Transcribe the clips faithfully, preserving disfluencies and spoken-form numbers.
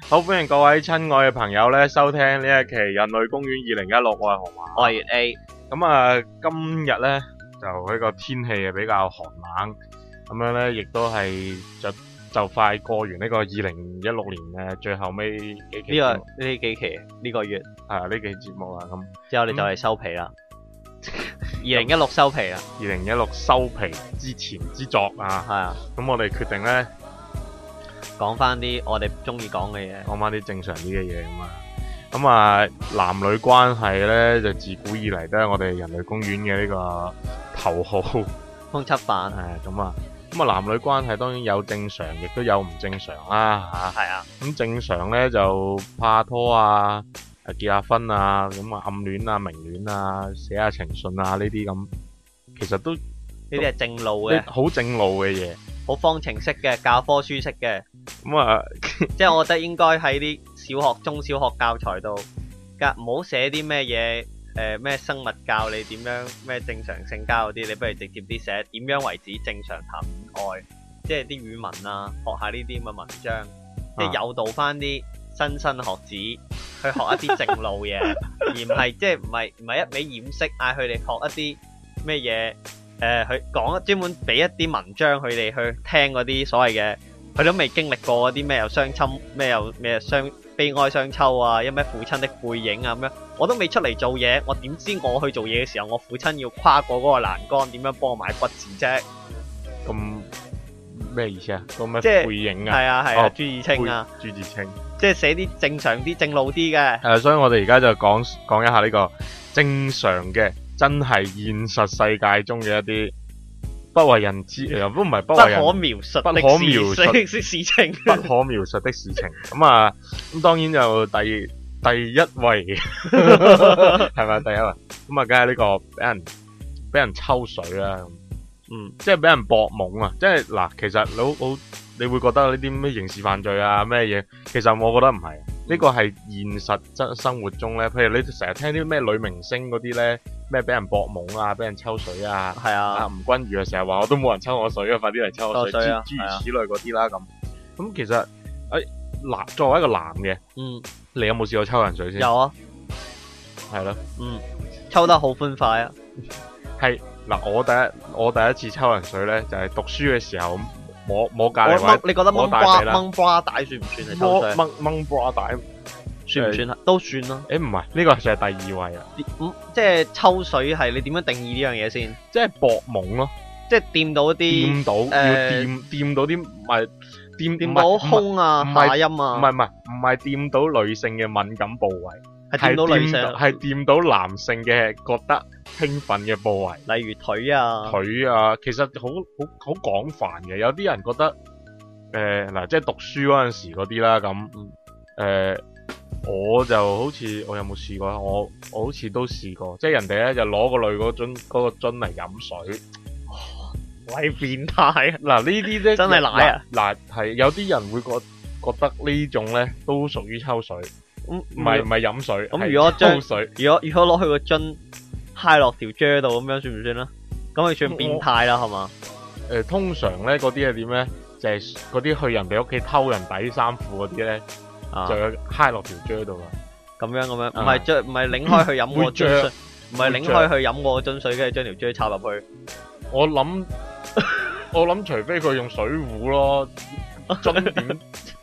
好歡迎各位親愛嘅朋友咧收聽呢一期《人類公園二零一六》，我係河馬， 我係粵 A。 咁啊，今日咧就呢個天氣啊比較寒冷，咁樣咧亦都係就就快過完呢個二零一六年嘅最後尾幾期呢、 節目， 個呢幾期呢、個月係啊呢期節目啦，咁之後你就嚟收皮啦。二零一六收皮啦， 二零一六收皮之前之作啊， 係啊， 咁我哋決定咧講翻啲我哋中意講嘅嘢。 講翻啲正常啲嘅嘢咁啊。咁啊，男女關係咧就自古以嚟都係我哋人類公園嘅呢個頭號。 通緝犯係咁啊，咁啊男女關係當然有正常，亦都有唔正常啦嚇。 係啊， 咁正常咧就拍拖啊、誒結下婚啊、咁啊暗戀啊、明戀啊、寫下情信啊呢啲咁，其實都呢啲係正路嘅， 好正路嘅嘢。 好方程式嘅教科書式嘅， 咁啊， 即係我覺得應該喺啲小學、中小學教材度，㗎唔好寫啲咩嘢誒咩生物教你點樣咩正常性交嗰啲，你不如直接啲寫點樣為止正常談戀愛，即係啲語文啊，學下呢啲咁嘅文章，即係誘導翻啲新生學子去學一啲正路嘢，而唔係即係唔係唔係一味掩飾，嗌佢哋學一啲咩嘢。誒，佢講專門俾一啲文章佢哋去聽嗰啲所謂嘅，佢都未經歷過嗰啲咩又相親，咩又咩相悲哀相抽啊，因咩父親的背影啊咁樣，我都未出嚟做嘢，我點知我去做嘢嘅時候，我父親要跨過嗰個欄杆，點樣幫我買骨子啫？ 咁咩意思啊？個咩即係背影啊？ 係啊係啊， 哦朱自清啊， 朱自清。 即係寫啲正常啲、正路啲嘅。 誒，所以我哋而家就講講一下呢個正常嘅。真係現實世界中嘅一啲不為人知，又都唔係不為人不可描述的不可描述的事情， 不可描述的事情。咁啊，咁當然就第第一位係咪第一位？咁啊，梗係呢個俾人俾人抽水啦。嗯，即係俾人博懵啊！即係嗱，其實你好好，你會覺得呢啲咩刑事犯罪啊咩嘢？其實我覺得唔係，呢個係現實真生活中咧。譬如你成日聽啲咩女明星嗰啲咧。咩俾人博懵啊，俾人抽水啊， 係啊， 啊吳君如啊，成日話我都冇人抽我水啊，快啲嚟抽我水，諸啊、 諸如此類嗰啲啦咁。咁其實誒男作為一個男嘅， 嗯， 你有冇試過抽人水先？ 有啊， 係咯， 嗯，抽得好歡快啊。 係嗱，我第一我第一次抽人水咧，就係、是、讀書嘅時候摸摸隔離位， 你覺得掹瓜掹瓜帶算唔算係抽水？ 掹掹瓜帶。 算唔算啊？都算咯。 誒唔係，呢個就係第二位啦。 嗯，即係抽水係你點樣定義呢樣嘢先？ 即係博懵咯， 即係掂到啲掂到， 誒要掂掂到啲唔係掂掂到胸啊、下陰啊， 唔係唔係唔係掂到女性嘅敏感部位， 係掂到女性， 係掂到男性嘅覺得興奮嘅部位， 例如腿啊、 腿啊，其實好好好廣泛嘅。有啲人覺得誒嗱，即係讀書嗰陣時嗰啲啦咁誒。我就好似我有冇試過？我我好似都試過，即係人哋咧就攞個女嗰樽嗰個樽嚟飲水， 喂變態！ 嗱呢啲咧真係奶啊！ 嗱係有啲人會覺覺得呢種咧都屬於抽水，唔唔係唔係飲水。 咁如果抽水， 如果如果攞去個樽揩落條啫度咁樣算唔算啦？咁佢算變態啦係嘛？ 誒通常咧嗰啲係點咧？就係嗰啲去人哋屋企偷人底衫褲嗰啲咧。啊、就要揩落條啫度啦， 咁樣咁樣，唔係將唔係擰開去飲個樽水，唔係擰開去飲個樽水，跟住將條啫插入去。 我諗我諗，除非佢用水壺咯，樽點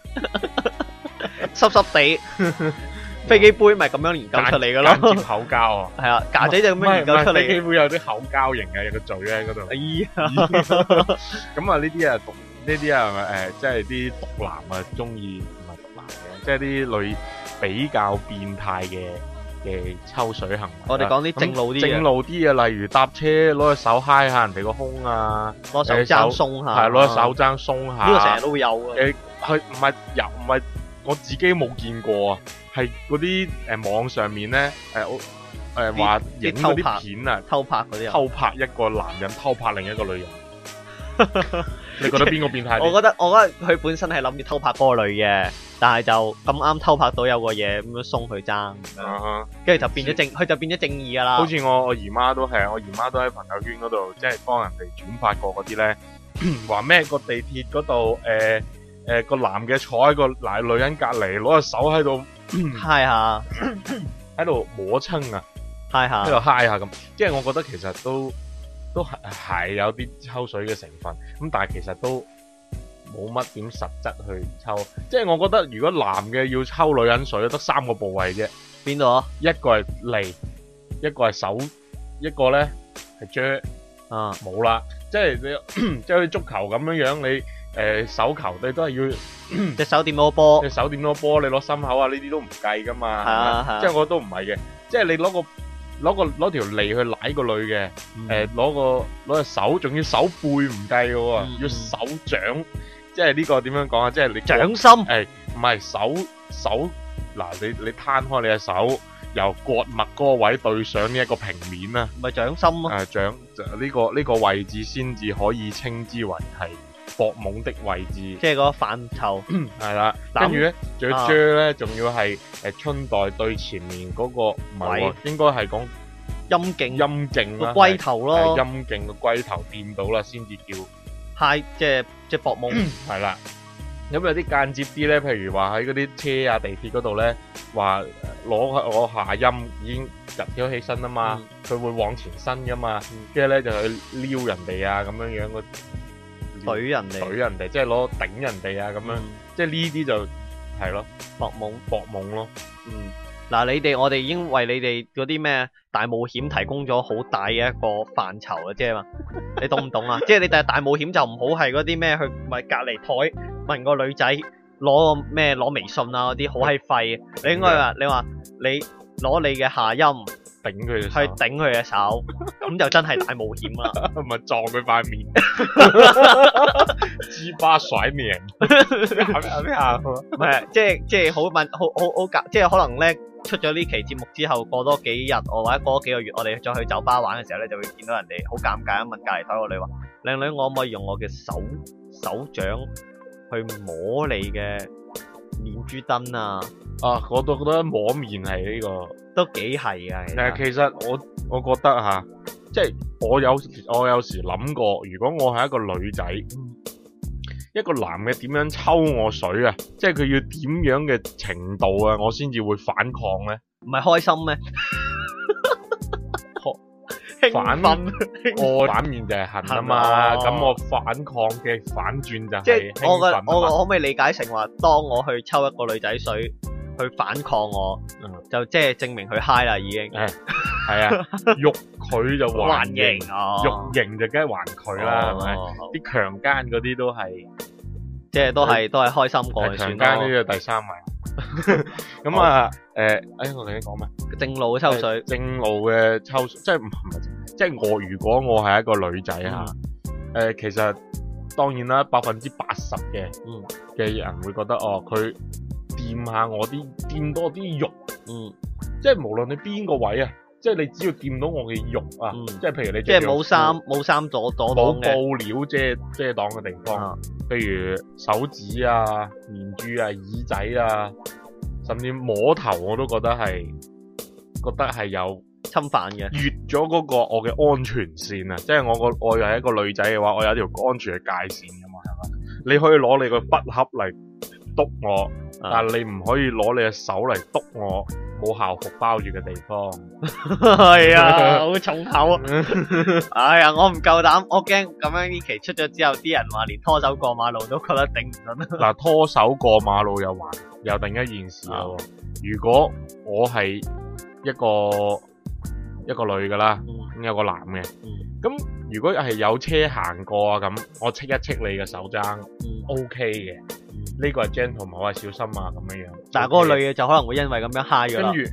濕濕地，飛機杯咪咁樣研究出嚟噶咯， 間接口膠啊， 係啊，架仔就咁樣研究出嚟。 飛機杯有啲口膠型嘅，有個嘴喺嗰度。 哎呀， 咁啊呢啲啊毒呢啲啊誒，即係啲毒男啊中意。即係啲女比較變態嘅嘅抽水行為。 我哋講啲正路啲正路啲嘅，例如搭車攞隻手揩下人哋個胸啊， 攞手踭鬆下， 係攞隻手踭鬆下。 呢個成日都會有啊。 誒，佢唔係又唔係我自己冇見過啊，係嗰啲誒網上面咧誒誒話影嗰啲片啊， 偷拍嗰啲啊， 偷拍一個男人偷拍另一個女人。你覺得邊個變態啲？ 我覺得我覺得佢本身係諗住偷拍嗰個女嘅，但係就咁啱偷拍到有個嘢咁樣鬆佢爭，跟住就變咗正，佢就變咗正義噶啦。 好似我我姨媽都係，我姨媽都喺朋友圈嗰度，即係幫人哋轉發過嗰啲咧，話咩個地鐵嗰度誒誒個男嘅坐喺個嗱女人隔離，攞隻手喺度嗨下喺度摸親啊， 嗨下喺度嗨下咁，即係我覺得其實都都係係有啲抽水嘅成分，咁但係其實都冇乜點實質去抽，即係我覺得如果男嘅要抽女人水，得三個部位啫， 邊度啊？ 一個係脷，一個係手，一個咧係啫， 啊冇啦，即係你即係好似足球咁樣樣，你誒、呃、手球你都係要隻手掂到波， 隻手掂到波，你攞心口啊呢啲都唔計噶嘛， 係啊係啊即係我覺得都唔係嘅，即係你攞個攞個攞條脷去舐個女嘅，誒攞個攞隻手，仲要手背唔計嘅喎， 嗯要手掌，即係呢個點樣講啊？即係你掌心， 誒唔係手手嗱，你你攤開你隻手，由割脈嗰個位對上呢一個平面啊， 咪掌心咯。 誒掌就呢個呢個位置先至可以稱之為係搏懵的位置， 即係嗰個範疇。 係啦。 嗱跟住咧，仲要啊啫咧，仲要係誒春袋對前面嗰個唔係喎位， 應該係講陰莖陰莖啦， 個龜頭係咯， 陰莖個龜頭掂到啦，先至叫嗨，即係即係搏懵。 係啦。咁有啲間接啲咧，譬如話喺嗰啲車啊、地鐵嗰度咧，話攞我下陰已經入咗起身啊嘛，佢、會往前伸噶嘛，跟住咧就去撩人哋啊咁樣樣個懟人哋， 懟人哋，即係攞頂人哋啊咁樣， 嗯即係呢啲就係咯， 搏懵。 搏懵咯。 嗯，嗱，你哋我哋已經為你哋嗰啲咩大冒險提供咗好大嘅一個範疇啦，即係嘛，你懂唔懂啊？即係你第日大冒險就唔好係嗰啲咩去咪隔離台問個女仔攞個咩攞微信啊嗰啲好閪廢嘅，你應該話你話你攞你嘅下陰頂佢隻去手， 頂佢嘅手，咁就真係大冒險啦。 咪撞佢塊面，雞巴甩面，有咩啊？ 唔係，即係即係好問，好好好夾，即係可能咧出咗呢期節目之後，過多幾日，我或者過多幾個月，我哋再去酒吧玩嘅時候咧，就會見到人哋好尷尬咁問隔離台個女話：靚女，我可唔可以用我嘅手手掌去摸你嘅面珠燈啊？ 啊，我都覺得摸面係呢、個。 都幾係啊，其誒， 實其實我我覺得吓，即係我有我有時諗過，如果我係一個女仔，一個男嘅點樣抽我水啊？即係佢要點樣嘅程度啊，我先至會反抗咧？ 唔係開心咩？ 反興奮， 我反面就係恨啊嘛， 恨啊咁我反抗嘅反轉就即係係我嘅興奮啊嘛。 我可唔可以理解成話，當我去抽一個女仔水去反抗我， 嗯就即係證明佢 high 啦已經。 誒係啊，欲佢就還還形， 型哦， 欲型就梗係還佢啦，係咪？ 哦啲強姦嗰啲都係。 即係都係都係開心過就強算咯。 姦呢個第三位，咁啊，誒，誒，我哋講咩？ 正路抽水， 正路嘅抽水，即係唔係，即係我如果我係一個女仔吓，誒，其實當然啦，百分之八十嘅嗯嘅人會覺得哦，佢掂下我啲，掂多啲肉， 嗯， 即係無論你邊個位啊，即係你只要掂到我嘅肉啊， 嗯即係譬如你即係着冇衫冇衫阻阻擋冇嘅， 布料遮遮擋嘅地方。 啊譬如手指啊、面珠啊、耳仔啊，甚至摸頭我都覺得係覺得係有侵犯嘅。 越咗嗰個我嘅安全線啊！即係我個我又係一個女仔嘅話，我有一條安全嘅界線噶嘛，係嘛？你可以攞你個筆盒嚟篤我， 啊但係你唔可以攞你嘅手嚟篤我冇校服包住嘅地方。 係啊，好重口啊！哎呀，我唔夠膽，我驚咁樣呢期出咗之後，啲人話連拖手過馬路都覺得頂唔順。 嗱，拖手過馬路又還又另一件事啦喎。如果我係一個一個女噶啦，咁有個男嘅，咁如果係有車行過啊，咁我戚一戚你嘅手踭，OK 嘅，呢個係 gentleman，我係小心啊咁樣樣。 但係嗰個女嘅就可能會因為咁樣 high 咗啦。 跟住，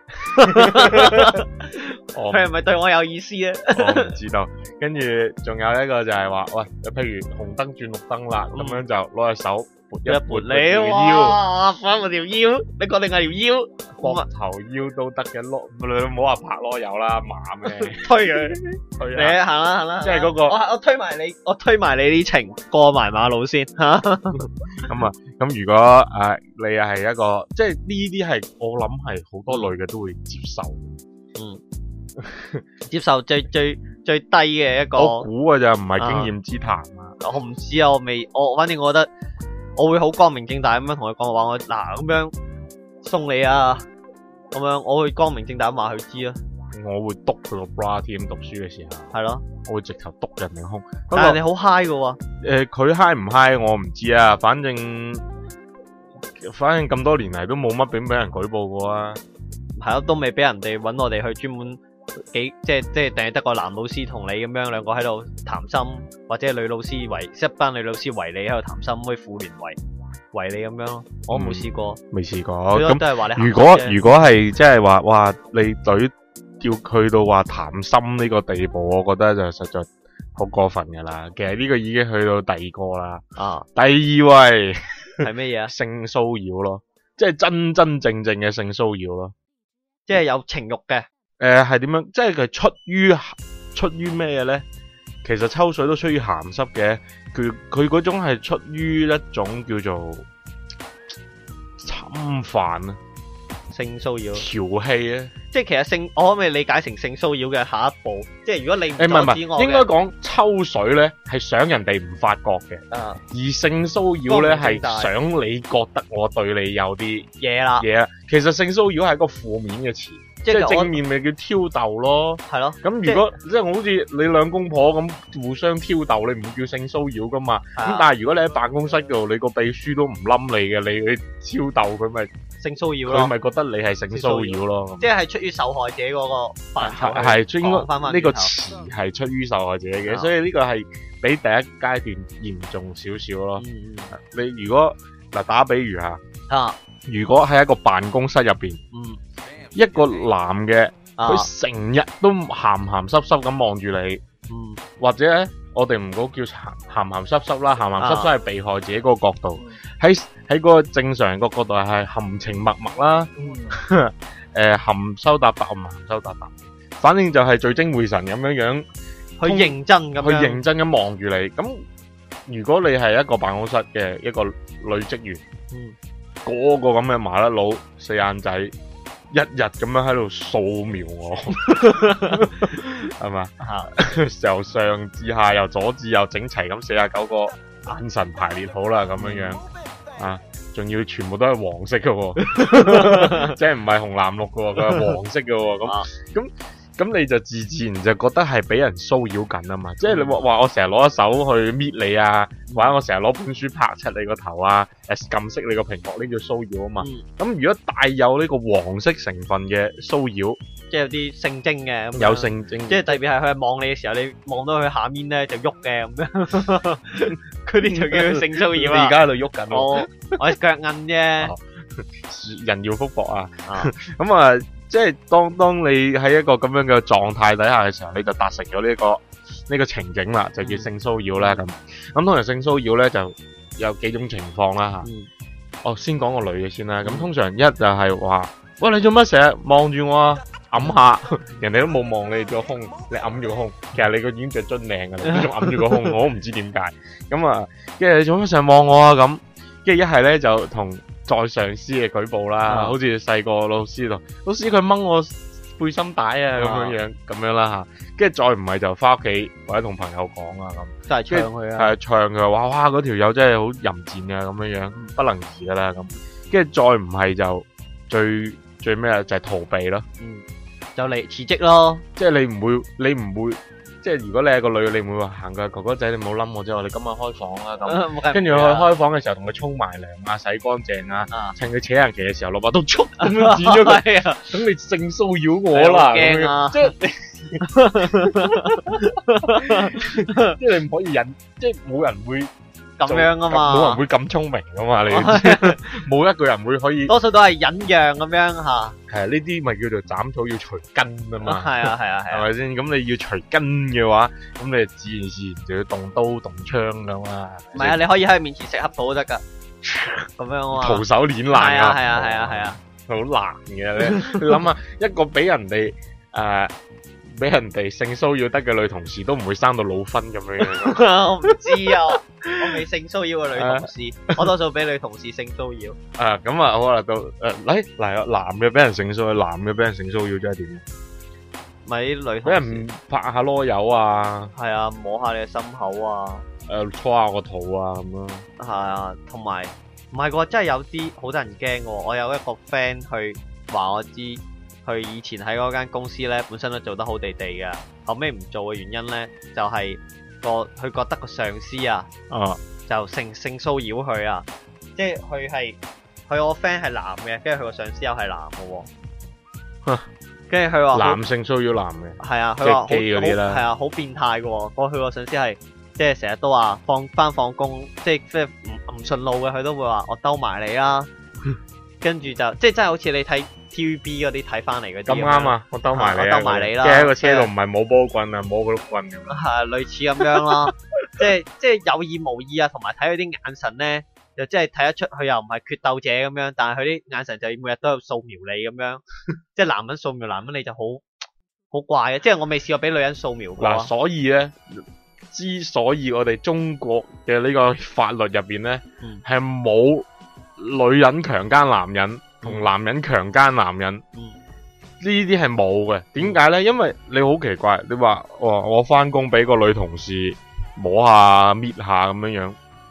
我佢係咪對我有意思咧？ 我唔知道。跟住仲有一個就係話，喂，譬如紅燈轉綠燈啦，咁樣就攞隻手撥一一撥撥你條腰。 哇，翻我條腰，你確定係條腰？ 膊頭腰都得嘅，攞你唔好話拍籮柚啦，馬咩？ 推佢， 推你啊！ 行啦行啦， 即係嗰個我我推埋你，我推埋你啲情過埋馬路先吓。 咁啊，咁如果誒、呃、你又係一個，即係呢啲係我諗係好多女嘅都會接受。 嗯，接受最最最低嘅一個， 我估嘅就唔係經驗之談啊。 我唔知啊，我未，我反正我覺得我會好光明正大咁樣同佢講話，我嗱咁樣送你啊，咁樣我會光明正大咁話佢知啊， 我會督佢個 bra 添，讀書嘅時候， 係咯， 我會直頭督人哋胸。 但係你好 high 噶喎， 誒，佢 high 唔 high 我唔知啊，反正反正咁多年嚟都冇乜點俾人舉報過啊。 係咯，都未俾人哋揾我哋去專門幾即係即係淨係得個男老師同你咁樣兩個喺度談心，或者女老師圍一班女老師圍你喺度談心，可以婦聯圍圍你咁樣咯。我冇試過， 未試過。 咁都係話你咁如果如果係即係話哇，你隊叫佢到話談心呢個地步，我覺得就實在好過分噶啦。其實呢個已經去到第二個啦。 啊， 第二位係咩嘢啊？ 性騷擾咯，即係真真正正嘅性騷擾咯。 即係有情慾嘅。 誒係點樣？即係佢出於出於咩嘢咧？其實抽水都出於鹹濕嘅，佢佢嗰種係出於一種叫做侵犯啊、 性騷擾、 調戲啊。 即係其實性，我可唔可以理解成性騷擾嘅下一步？即係如果你唔誒唔係唔阻止我嘅係，應該講抽水咧係想人哋唔發覺嘅， 啊而性騷擾咧係光明正大想你覺得我對你有啲嘢啦， 嘢啊。其實性騷擾係一個負面嘅詞。即係正面咪叫挑逗咯， 係咯。 咁如果即係我好似你兩公婆咁互相挑逗，你唔會叫性騷擾噶嘛。咁、啊、但係如果你喺辦公室度，你個秘書都唔冧你嘅，你你挑逗佢咪性騷擾咯。 佢咪覺得你係性騷擾咯。即係出於受害者嗰個範疇。 係應該呢個詞係出於受害者嘅、啊，所以呢個係比第一階段嚴重少少咯。嗯、你如果嗱打比如下，啊，如果喺一個辦公室入邊，嗯。一個男嘅，佢成日都鹹鹹濕濕咁望住你，嗯、或者咧，我哋唔好叫鹹鹹濕濕啦，鹹鹹濕濕係被害者嗰個角度，喺喺嗰個正常人個角度係含情脈脈啦，誒、呃、含羞答答唔含羞答答，反正就係聚精會神咁樣樣， 去認真咁樣， 去認真咁望住你。咁如果你係一個辦公室嘅一個女職員，嗯、個個咁嘅麻甩佬四眼仔。一日咁樣喺度掃描我，係嘛？由上至下，由左至右，整齊咁四十九個眼神排列好啦，咁樣樣啊，仲要全部都係黃色嘅，即係唔係紅藍綠嘅，佢係黃色嘅，咁咁咁你就自自然就覺得係俾人騷擾緊啊嘛，即係你話話我成日攞一手去搣你啊，或者我成日攞本書拍出你個頭啊，誒撳熄你個屏幕，呢叫騷擾啊嘛。咁、嗯、如果帶有呢個黃色成分嘅騷擾，即係有啲性徵嘅，有性徵，即係特別係佢係望你嘅時候，你望到佢下面咧就喐嘅咁樣，嗰啲就叫性騷擾啦。你而家喺度喐緊，我我腳韌啫，人要福薄啊，咁啊。即係當當你喺一個咁樣嘅狀態底下嘅時候，你就達成咗呢、這個呢、這個情景啦，就叫性騷擾啦咁。咁通常性騷擾咧就有幾種情況啦吓。嗯、哦，先講個女嘅先啦。咁通常一就係話，喂，你做乜成日望住我啊？揞下，人哋都冇望你個胸，你揞住個胸。其實你個已經着樽領噶啦，你仲揞住個胸，我都唔知點解。咁啊，跟住你做乜成日望我啊？咁，跟住一係咧就同再上司嘅舉報啦，啊、好似細個老師度，老師佢掹我背心帶啊咁樣樣，咁樣啦吓，跟住再唔係就翻屋企或者同朋友講啊咁，真係唱佢啊，係唱佢話哇嗰條友真係好淫賤啊咁樣樣，不能移噶啦咁，跟住再唔係就最最咩啊就係逃避咯，嗯，就嚟辭職咯，即係你唔會你唔會。即係如果你係個女，你唔會話行過哥哥仔，你冇冧我啫。我哋今日開房啦咁，跟住去開房嘅時候，同佢沖埋涼啊，洗乾淨啊，趁佢扯人旗嘅時候，落把刀速咁樣剪咗佢，咁你性騷擾我啦，驚啊！即係即係你唔可以忍，即係冇人會咁樣啊嘛，冇人會咁聰明噶嘛，你冇一個人會可以，多數都係忍讓咁樣吓。係啊，呢啲咪叫做斬草要除根啊嘛。係啊係啊係，係咪先？咁你要除根嘅話，咁你自然自然就要動刀動槍噶嘛。唔係啊，你可以喺佢面前食黑土都得噶，咁樣啊。徒手捏爛啊！係啊係啊係啊係啊，好難嘅你。你諗下，一個俾人哋誒。俾人哋性騷擾得嘅女同事都唔會生到老婚咁樣樣。我唔知啊，我未性騷擾過女同事，我多數俾女同事性騷擾。啊，咁啊好啦，到誒嚟嚟男嘅俾人性騷擾，男嘅俾人性騷擾即係點？咪女俾人拍下囉柚啊，係啊，摸下你嘅心口啊， 誒搓下個肚啊咁咯。 係啊，同埋唔係喎，真係有啲好得人驚喎。我有一個 friend 去話我知，佢以前喺嗰間公司咧，本身都做得好地地嘅，後尾唔做嘅原因咧，就係、個佢覺得個上司啊， 啊就性性騷擾佢啊，即係佢係佢我 friend 係男嘅，跟住佢個上司又係男嘅喎。跟住佢話男性騷擾男嘅， 係啊，佢話好即係基嗰啲啦好係啊，好變態嘅喎。我佢個上司係即係成日都話放翻放工，即係即係唔唔順路嘅，佢都會話我兜埋你啦。跟住就即係真係好似你睇 T V B 嗰啲睇翻嚟嗰啲咁啱啊！我兜埋你啊， 我兜埋你啦即係喺個車度唔係冇波棍啊，摸嗰碌棍咁樣。 係類似咁樣咯，即係即係有意無意啊，同埋睇佢啲眼神咧，就真係睇得出佢又唔係決鬥者咁樣，但係佢啲眼神就每日都有掃描你咁樣，即係男人掃描男人你就好好怪嘅，即係我未試過俾女人掃描過嗱， 啊。 所以咧，之所以我哋中國嘅呢個法律入邊咧， 嗯係冇女人強姦男人同男人強姦男人。 嗯呢啲係冇嘅，點解呢？因為你好奇怪，你話哦，我翻工俾個女同事摸下、搣下咁樣樣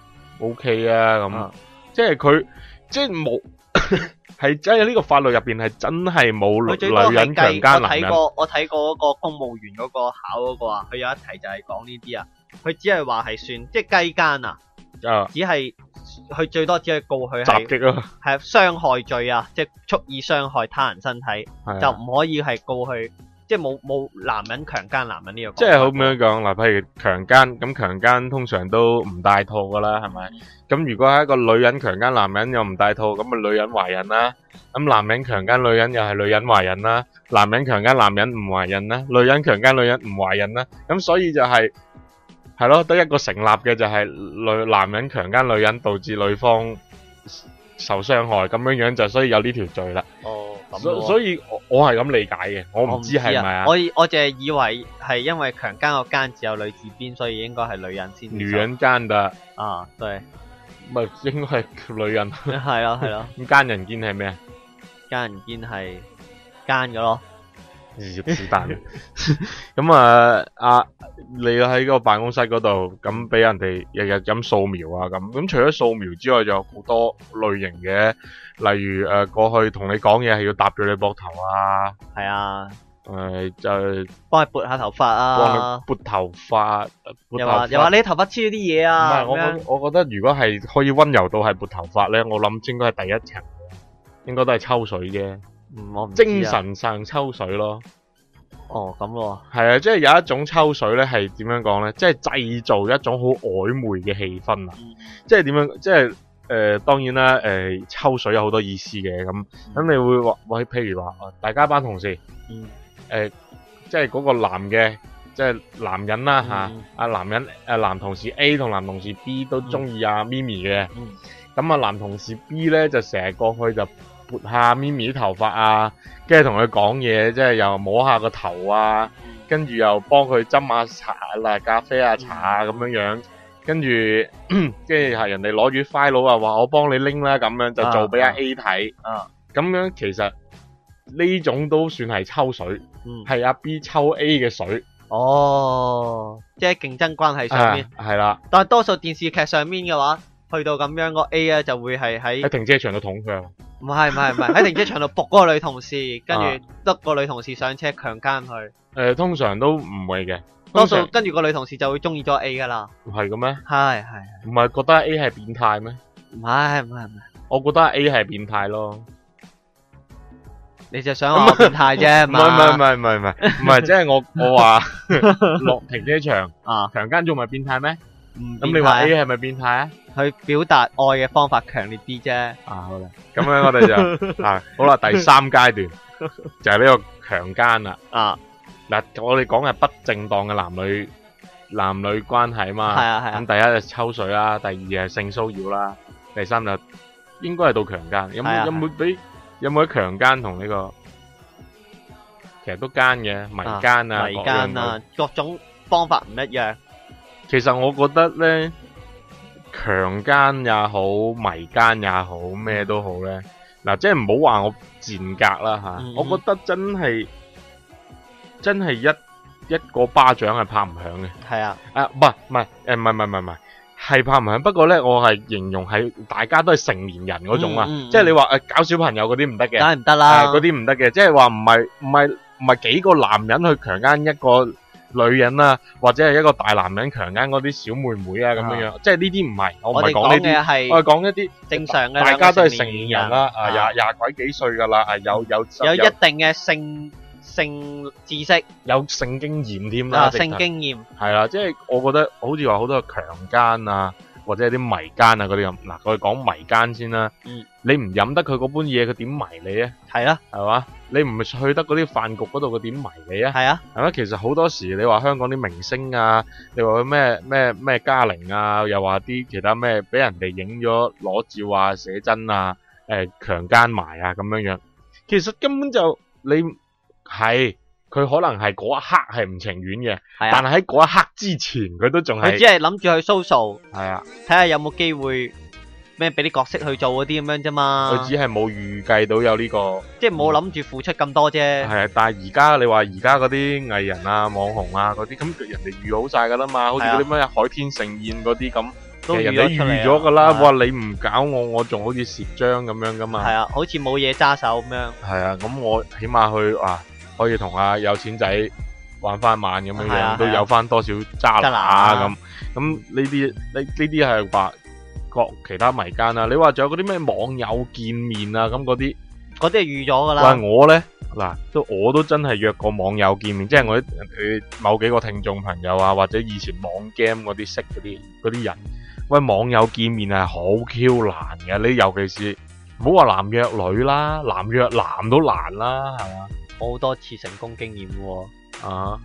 ，O K 啊咁， 啊即係佢即係冇係真係呢個法律入邊係真係冇佢最多係女人強計我姦男人。 睇過我睇過嗰個公務員嗰個考嗰個啊，佢有一題就係講呢啲啊，佢只係話係算即係雞奸啊， 啊， 只係佢最多只係告佢係襲擊啊， 係傷害罪啊，即係蓄意傷害他人身體。 係啊就唔可以係告佢，即係冇冇男人強姦男人呢個講法。 即係好咁樣講嗱，譬如強姦，咁強姦通常都唔帶套噶啦，係咪？咁如果係一個女人強姦男人又唔帶套，咁啊女人懷孕啦；咁男人強姦女人又係女人懷孕啦；男人強姦男人唔懷孕啦；女人強姦女人唔懷孕啦。咁所以就係係咯，得一個成立嘅就係女男人強姦女人導致女方受傷害，咁樣樣就所以有呢條罪啦。 哦，咁所咯所以我我係咁理解嘅，我唔知係咪啊？ 我我淨係以為係因為強姦個姦字有女字邊，所以應該係女人先至受。 女人奸的， 啊，對， 咪應該係女人。 係咯係咯， 咁奸人堅係咩啊？ 姦人堅係姦嘅咯。 是但。咁啊，啊，你喺個辦公室嗰度，咁俾人哋日日咁掃描啊，咁咁除咗掃描之外，仲有好多類型嘅，例如誒、呃、過去同你講嘢係要搭住你膊頭啊， 係啊， 誒、呃、就幫你撥下頭髮幫啊你，撥頭髮，撥又頭髮話又話你頭髮黐咗啲嘢唔啊， 係，我咁樣覺我覺得如果係可以溫柔到係撥頭髮咧，我諗應該係第一層，應該都係抽水啫。 嗯，我唔知啊精神上抽水咯， 哦咁咯， 係啊，即係有一種抽水咧，係點樣講咧？即係製造一種好曖昧嘅氣氛啊！ 嗯即係點樣？即係誒、呃，當然啦，誒、呃，抽水有好多意思嘅，咁咁你會話，喂，譬如話，大家班同事， 嗯， 誒、呃，即係嗰個男嘅，即係男人啦吓， 嗯啊男人誒男同事 A 同男同事 B 都中意阿咪咪嘅， 嗯咁啊男同事 B 咧就成日過去就撥下咪咪啲頭髮啊，跟住同佢講嘢，即係又摸下個頭啊，跟住又幫佢斟下茶啦、咖啡啊、茶啊咁樣樣，跟住跟住係人哋攞住 file 啊，話我幫你拎啦，咁樣就做俾阿 A 睇， 啊， 咁樣其實呢種都算係抽水， 嗯， 係阿 B 抽 A 嘅水， 哦，即係競爭關係上面， 係啦， 但係多數電視劇上面嘅話，去到咁樣個 A 咧就會係喺喺停車場度捅佢啊， 唔係唔係唔係喺停車場度仆嗰個女同事，跟啊住得個女同事上車強姦佢， 誒通常都唔會嘅， 多數通常跟住個女同事就會中意咗 A 噶啦， 唔係嘅咩？ 係係， 唔係覺得 A 係變態咩？ 唔係唔係唔係， 我覺得 A 係變態咯。 你就想我變態啫， 唔係唔係唔係唔係唔係唔係，即係我我話落停車場啊， 強姦仲唔係變態咩？ 咁咁你話 A 係咪變態啊？ 去表達愛嘅方法強烈啲啫， 啊好啦，咁樣我哋就啊好啦，第三階段就係呢個強姦啦。 啊， 嗱，我哋講係不正當嘅男女男女關係嘛。 係啊係啊咁第一就抽水啦，第二係性騷擾啦，第三就應該係到強姦。有係啊冇有冇俾有冇啲強姦同呢個？其實都奸嘅，迷奸啊， 迷奸啊，各種方法唔一樣。 其實我覺得咧，強姦也好，迷奸也好，咩都好咧。嗱，即係唔好話我賤格啦吓， 嗯、 我覺得真係真係一一個巴掌係拍唔響嘅。 係啊， 啊，唔係唔係，誒，唔係唔係唔係， 係拍唔響，不過咧我係形容係大家都係成年人嗰種啊， 嗯嗯嗯即係你話誒搞小朋友嗰啲唔得嘅， 梗係唔得啦。 誒嗰啲唔得嘅，即係話唔係唔係唔係幾個男人去強姦一個女人啊，或者係一個大男人強姦嗰啲小妹妹啊咁樣樣，即係呢啲唔係，我唔我哋係講呢講嘅啲， 係我係講一啲正常嘅， 大家都係成年人啦，啊啊廿廿鬼幾歲㗎啦，啊有有有一定嘅性性知識有性經驗添啦， 啊， 直頭性經驗係啦，即係我覺得好似話好多強姦啊，或者係啲迷姦啊嗰啲咁。嗱，我哋講迷姦先啦。 嗯， 你唔飲得佢嗰杯嘢，佢點迷你啊？ 係啦， 係嘛？你唔去得嗰啲飯局嗰度，佢點迷你啊？ 係啊， 係咪？其實好多時你話香港啲明星啊，你話佢咩咩咩嘉玲啊，又話啲其他咩俾人哋影咗裸照啊、寫真啊、誒強姦埋啊咁樣樣，其實根本就你係。佢可能係嗰一刻係唔情願嘅， 係啊， 但係喺嗰一刻之前，佢都仲係佢只係諗住去 social， 係啊， 睇下有冇機會咩俾啲角色去做嗰啲咁樣啫嘛。 佢只係冇預計到有呢個， 即係冇諗住付出咁多啫。 係啊。但係而家你話而家嗰啲藝人啊、網紅啊嗰啲，咁人哋預好晒㗎啦嘛，好似嗰啲咩海天盛宴嗰啲咁，其都實人哋預咗出嚟啊預咗㗎啦。 係啊哇！你唔搞我，我仲好似蝕章咁樣㗎嘛。 係啊，好似冇嘢揸手咁樣。 係啊，咁我起碼去啊，可以同阿有錢仔玩翻晚咁樣樣， 係啊都有翻多少渣渣拿啊拿咁。咁呢啲呢呢啲係話各其他迷姦啊。你話仲有嗰啲咩網友見面啊咁嗰啲， 嗰啲係預咗㗎啦。 喂我咧嗱，都我都真係約過網友見面，即係我啲誒某幾個聽眾朋友啊，或者以前網 game 嗰啲識嗰啲嗰啲人，喂網友見面係好 Q 難嘅，你尤其是唔好話男約女啦，男約男都難啦，係嘛？ 好多次成功經驗喎。 啊，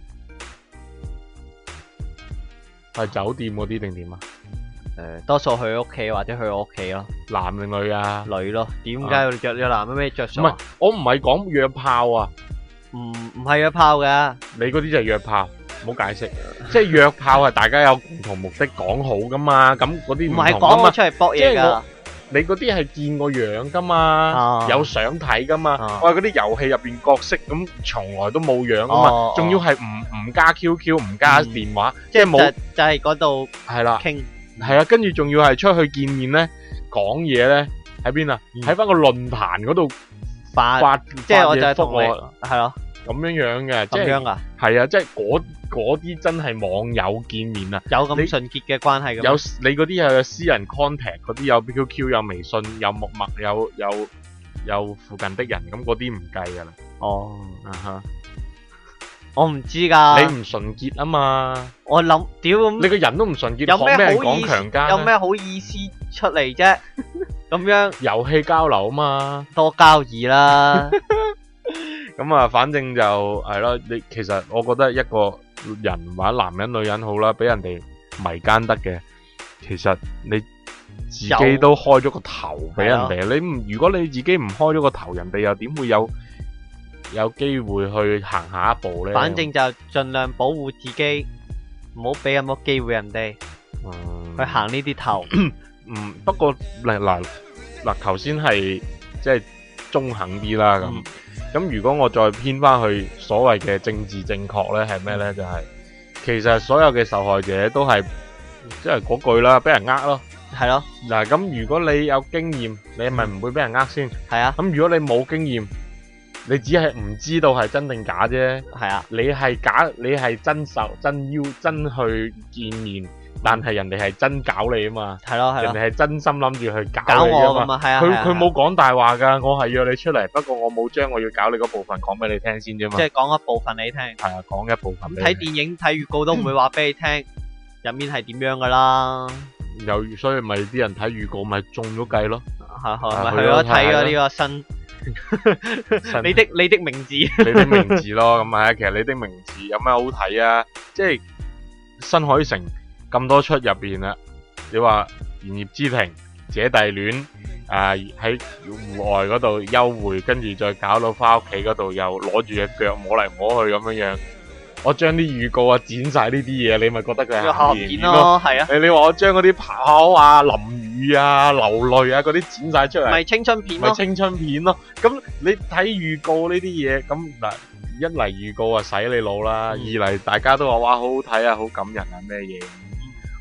係酒店嗰啲定點啊？ 誒，多數去屋企或者去我屋企咯， 男定女啊？ 女咯。點解要着咗男咩着數啊？ 我唔係講約炮啊， 唔唔係約炮㗎。 你嗰啲就係約炮，唔好解釋。即係約炮係大家有共同目的講好噶嘛，咁嗰啲唔唔係同噶嘛。 講我出嚟搏嘢㗎。 你嗰啲係見個樣噶嘛， 啊有相睇噶嘛。 啊喂，嗰啲遊戲入邊角色咁，從來都冇樣噶嘛哦， 仲要係唔唔加 Q Q，唔加嗯電話， 即係即係冇就就係嗰度係啦。 傾。 係啊，跟住仲要係出去見面咧，講嘢咧喺邊啊？ 嗯喺翻個論壇嗰度發， 發， 即係我就係同你發嘢覆我係咯， 咁樣樣嘅，即係咁樣㗎， 係啊，即係嗰嗰啲真係網友見面啊！ 有咁你純潔嘅關係㗎嘛。 有你嗰啲又有私人 contact，嗰啲有 Q Q，有微信，有陌陌，有有有附近的人，咁嗰啲唔計㗎啦。 哦， 啊哈， 我唔知㗎。 你唔純潔啊嘛， 我諗屌咁你個人都唔純潔， 有咩學咩人好意講強姦啊？ 有咩好意思出嚟啫？咁樣遊戲交流啊嘛。 多交易啦。 咁啊，反正就係咯。你其實我覺得一個人或者男人、女人好啦，俾人哋迷姦得嘅，其實你自己都開咗個頭俾人哋。你唔如果你自己唔開咗個頭，人哋又點會有有機會去行下一步呢？ 反正就盡量保護自己，唔好俾咁多機會人哋嗯去行呢啲頭。 嗯，不過嗱嗱嗱，頭先係即係中肯啲啦咁。 嗯咁如果我再偏翻去所謂嘅政治正確呢，係咩呢？就係、其實所有嘅受害者都係即係嗰句啦，俾人呃咯。 係咯， 嗱，咁如果你有經驗，你係咪唔會俾人呃先？ 係啊， 咁如果你冇經驗，你只係唔知道係真定假啫。 係啊， 你係假，你係真受真邀真去見面，但係人哋係真搞你啊嘛。 係咯，係咯， 人哋係真心諗住去搞搞你啊嘛。 我咁啊，係啊， 佢係啊佢冇講大話㗎，我係約你出嚟，不過我冇將我要搞你嗰部分講俾你聽先啫嘛。 即係講一部分你聽。 係啊，講一部分俾睇你聽。 電影睇預告都唔會話俾你聽入面係點樣㗎啦。 有所以咪啲人睇預告咪中咗計咯。 係係啊咪去咗睇去咗睇咗呢個新你的你的名字？ 你的名字咯，咁係啊，其實你的名字有咩好睇啊？即係新海誠咁多出入邊啦，你話《言葉之庭》、《姐弟戀》啊，喺戶外嗰度幽會，跟住再搞到翻屋企嗰度又攞住隻腳摸嚟摸去咁樣樣。我將啲預告啊剪晒呢啲嘢，你咪覺得佢係下鹹片片咯，係啊， 你你話我將嗰啲跑啊、淋雨啊、流淚啊嗰啲剪晒出嚟， 咪青春片咯。 咪青春片咯。咁你睇預告呢啲嘢，咁嗱一嚟預告啊洗你腦啦， 嗯二嚟大家都話哇好好睇啊，好感人啊咩嘢。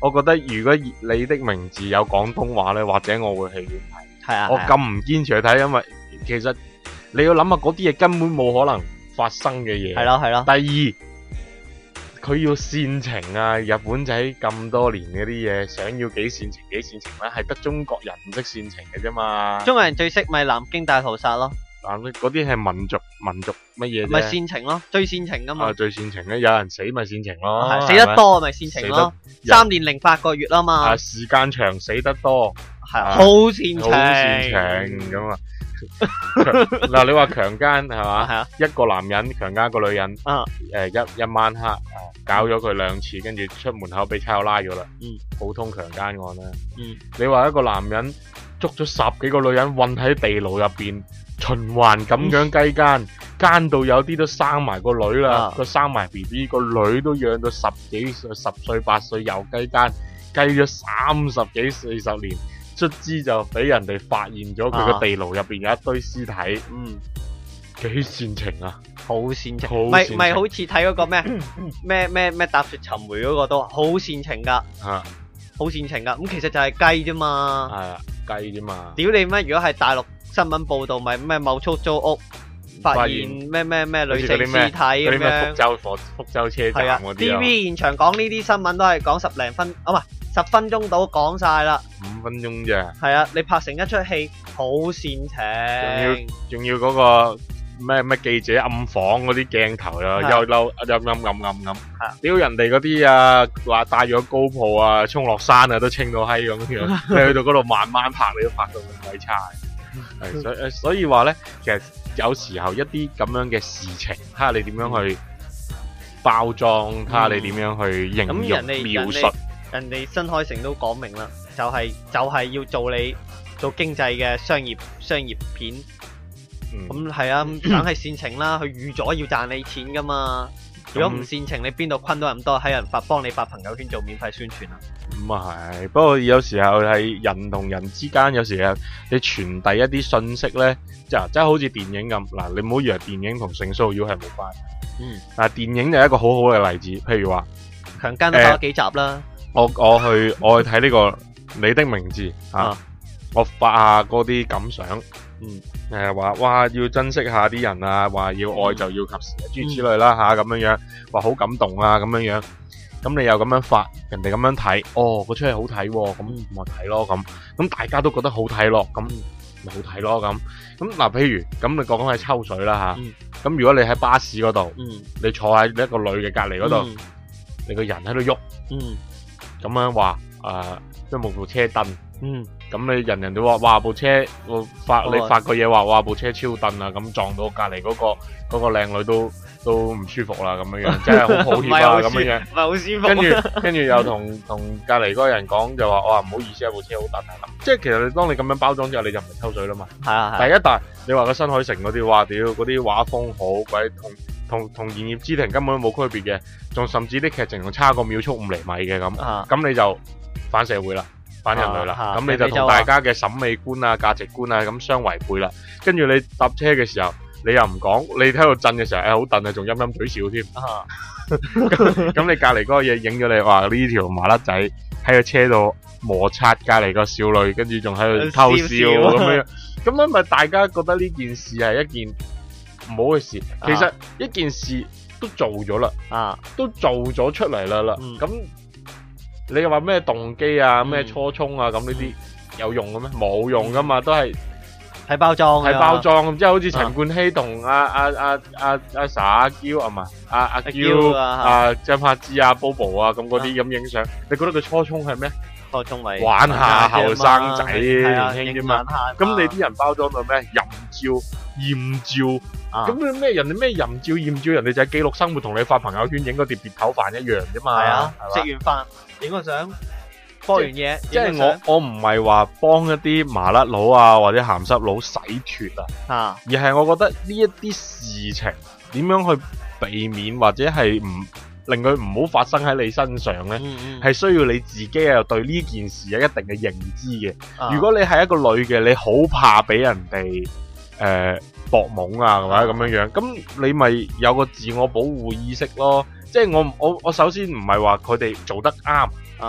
我覺得如果你的名字有廣東話咧，或者我會戲院睇。 係啊， 我咁唔堅持去睇，因為其實你要諗下嗰啲嘢根本冇可能發生嘅嘢。 係咯係咯。 第二，佢要煽情啊！日本仔咁多年嗰啲嘢，想要幾煽情幾煽情咧，係得中國人唔識煽情嘅啫嘛。 中國人最識咪南京大屠殺咯。 嗱，嗰啲係民族民族乜嘢啫？ 咪煽情咯，最煽情噶嘛。 啊，最煽情咧，有人死咪煽情咯， 係死得多咪煽情咯。三年零八個月啊嘛。 啊，時間長死得多， 係好煽情， 好煽情咁啊！嗱，你話強姦係嘛？ 係啊， 一個男人強姦一個女人， 啊， 誒一一晚黑，搞咗佢兩次，跟住出門口俾差佬拉咗啦。 嗯， 普通強姦案啦。 嗯， 你話一個男人捉咗十幾個女人韞喺地牢入邊，循環咁樣雞姦，姦到有啲都生埋個女啦，個生埋 B B，個女都養到十幾歲、十歲八歲又雞姦，雞咗三十幾四十年。卒之就俾人哋發現咗佢個地牢入邊有一堆屍體，嗯，幾煽情啊， 好煽情，咪咪好似睇嗰個咩咩咩咩踏雪尋梅嗰個都好煽情噶， 啊， 好煽情噶，咁其實就係雞啫嘛， 係啊，雞啫嘛， 屌你咩？如果係大陸新聞報道，咪咩某出租屋發現咩咩咩女性屍體咁樣， 福州火福州車站嗰啲啊 ，T V 現場講呢啲新聞都係講十零分，啊唔係。十分鐘到講晒啦， 五分鐘咋？係啊，你拍成一出戲好煽情， 仲要仲要嗰個咩咩記者暗訪嗰啲鏡頭啊，又嬲又暗暗暗暗，屌人哋嗰啲啊話帶咗高鋪啊，衝落山啊都清到閪咁樣，你去到嗰度慢慢拍，你都拍到咁鬼差。係所以所以話咧，其實有時候一啲咁樣嘅事情，睇下你點樣去包裝，睇下你點樣去形容描述。 人哋新海誠都講明啦，就係、是、就係、是、要做你做經濟嘅商業商業片，咁係、嗯、啊，梗係煽情啦，佢預咗要賺你錢噶嘛。如果唔煽情，你邊度昆到咁多喺人發幫你發朋友圈做免費宣傳啊？咁啊係，不過有時候係人同人之間，有時候你傳遞一啲信息咧，就即係好似電影咁嗱，你唔好以為電影同性騷擾係冇關係。嗯，嗱，電影就係一個好好嘅例子，譬如話強姦都拍咗幾集啦。呃我我去我去睇呢、這個你的名字啊，啊我發下嗰啲感想，嗯，誒話哇要珍惜下啲人啊，話要愛就要及時啊，諸如此類啦吓，咁樣樣，話好感動啊咁樣樣，咁你又咁樣發，人哋咁樣睇，哦，嗰出戲好睇，咁咪睇咯咁，咁大家都覺得好睇咯，咁咪好睇咯咁，咁嗱，譬如咁你講講係抽水啦吓，咁、嗯、如果你喺巴士嗰度，嗯、你坐喺一個女嘅隔籬嗰度，嗯、你個人喺度喐，嗯。咁樣話誒，即係冇部車蹬，嗯，咁你人人都話，哇部車，我發你發個嘢話，哇部車超蹬啊，咁撞到隔籬嗰個嗰個靚女都都唔舒服啦，咁樣樣，真係好抱歉啊，咁樣樣，唔係好舒服。跟住跟住又同同隔籬嗰個人講，就話，哇唔好意思啊，部車好蹬啊，即係其實你當你咁樣包裝之後，你就唔係抽水啦嘛。係啊係。第一但你話個新海誠嗰啲，哇屌嗰啲畫風好鬼同。同同《言葉之庭》根本都冇區別嘅，仲甚至啲劇情仲差過秒速五厘米嘅咁，咁、啊、你就反社會啦，反人類啦，咁、啊啊、你就同大家嘅審美觀啊、價值觀啊咁相違背啦。跟住你搭車嘅時候，你又唔講，你喺度震嘅時候，誒好震啊，仲陰陰嘴笑添。咁咁你隔離嗰個嘢影咗你，話呢條麻甩仔喺個車度摩擦隔離個少女，跟住仲喺度偷笑咁樣，咁樣咪大家覺得呢件事係一件唔好嘅事，其實一件事都做咗啦，啊，都做咗出嚟啦啦，咁、嗯、你又話咩動機啊、咩、嗯、初衷啊，咁呢啲有用嘅咩？冇用噶嘛，都係睇包裝，睇包裝，即係好似陳冠希同阿阿阿阿阿 sa 阿嬌啊嘛，阿阿嬌啊張柏芝啊 Bobo 啊咁嗰啲咁影相，你覺得佢初衷係咩？初衷咪玩下後生仔年輕啫嘛，咁你啲人包裝到咩淫照、豔照？咁你咩人哋咩淫照豔照，人哋就係記錄生活，同你發朋友圈影嗰碟碟頭飯一樣啫嘛。係啊，食完飯影個相，播完嘢。即係我我唔係話幫一啲麻甩佬啊或者鹹濕佬洗脫啊，啊而係我覺得呢一啲事情點樣去避免或者係唔令佢唔好發生喺你身上咧，係、嗯嗯、需要你自己啊對呢件事有一定嘅認知嘅、啊。如果你係一個女嘅，你好怕俾人哋誒。呃搏懵啊，或者咁樣樣，咁你咪有個自我保護意識咯。即係我我我首先唔係話佢哋做得啱啊，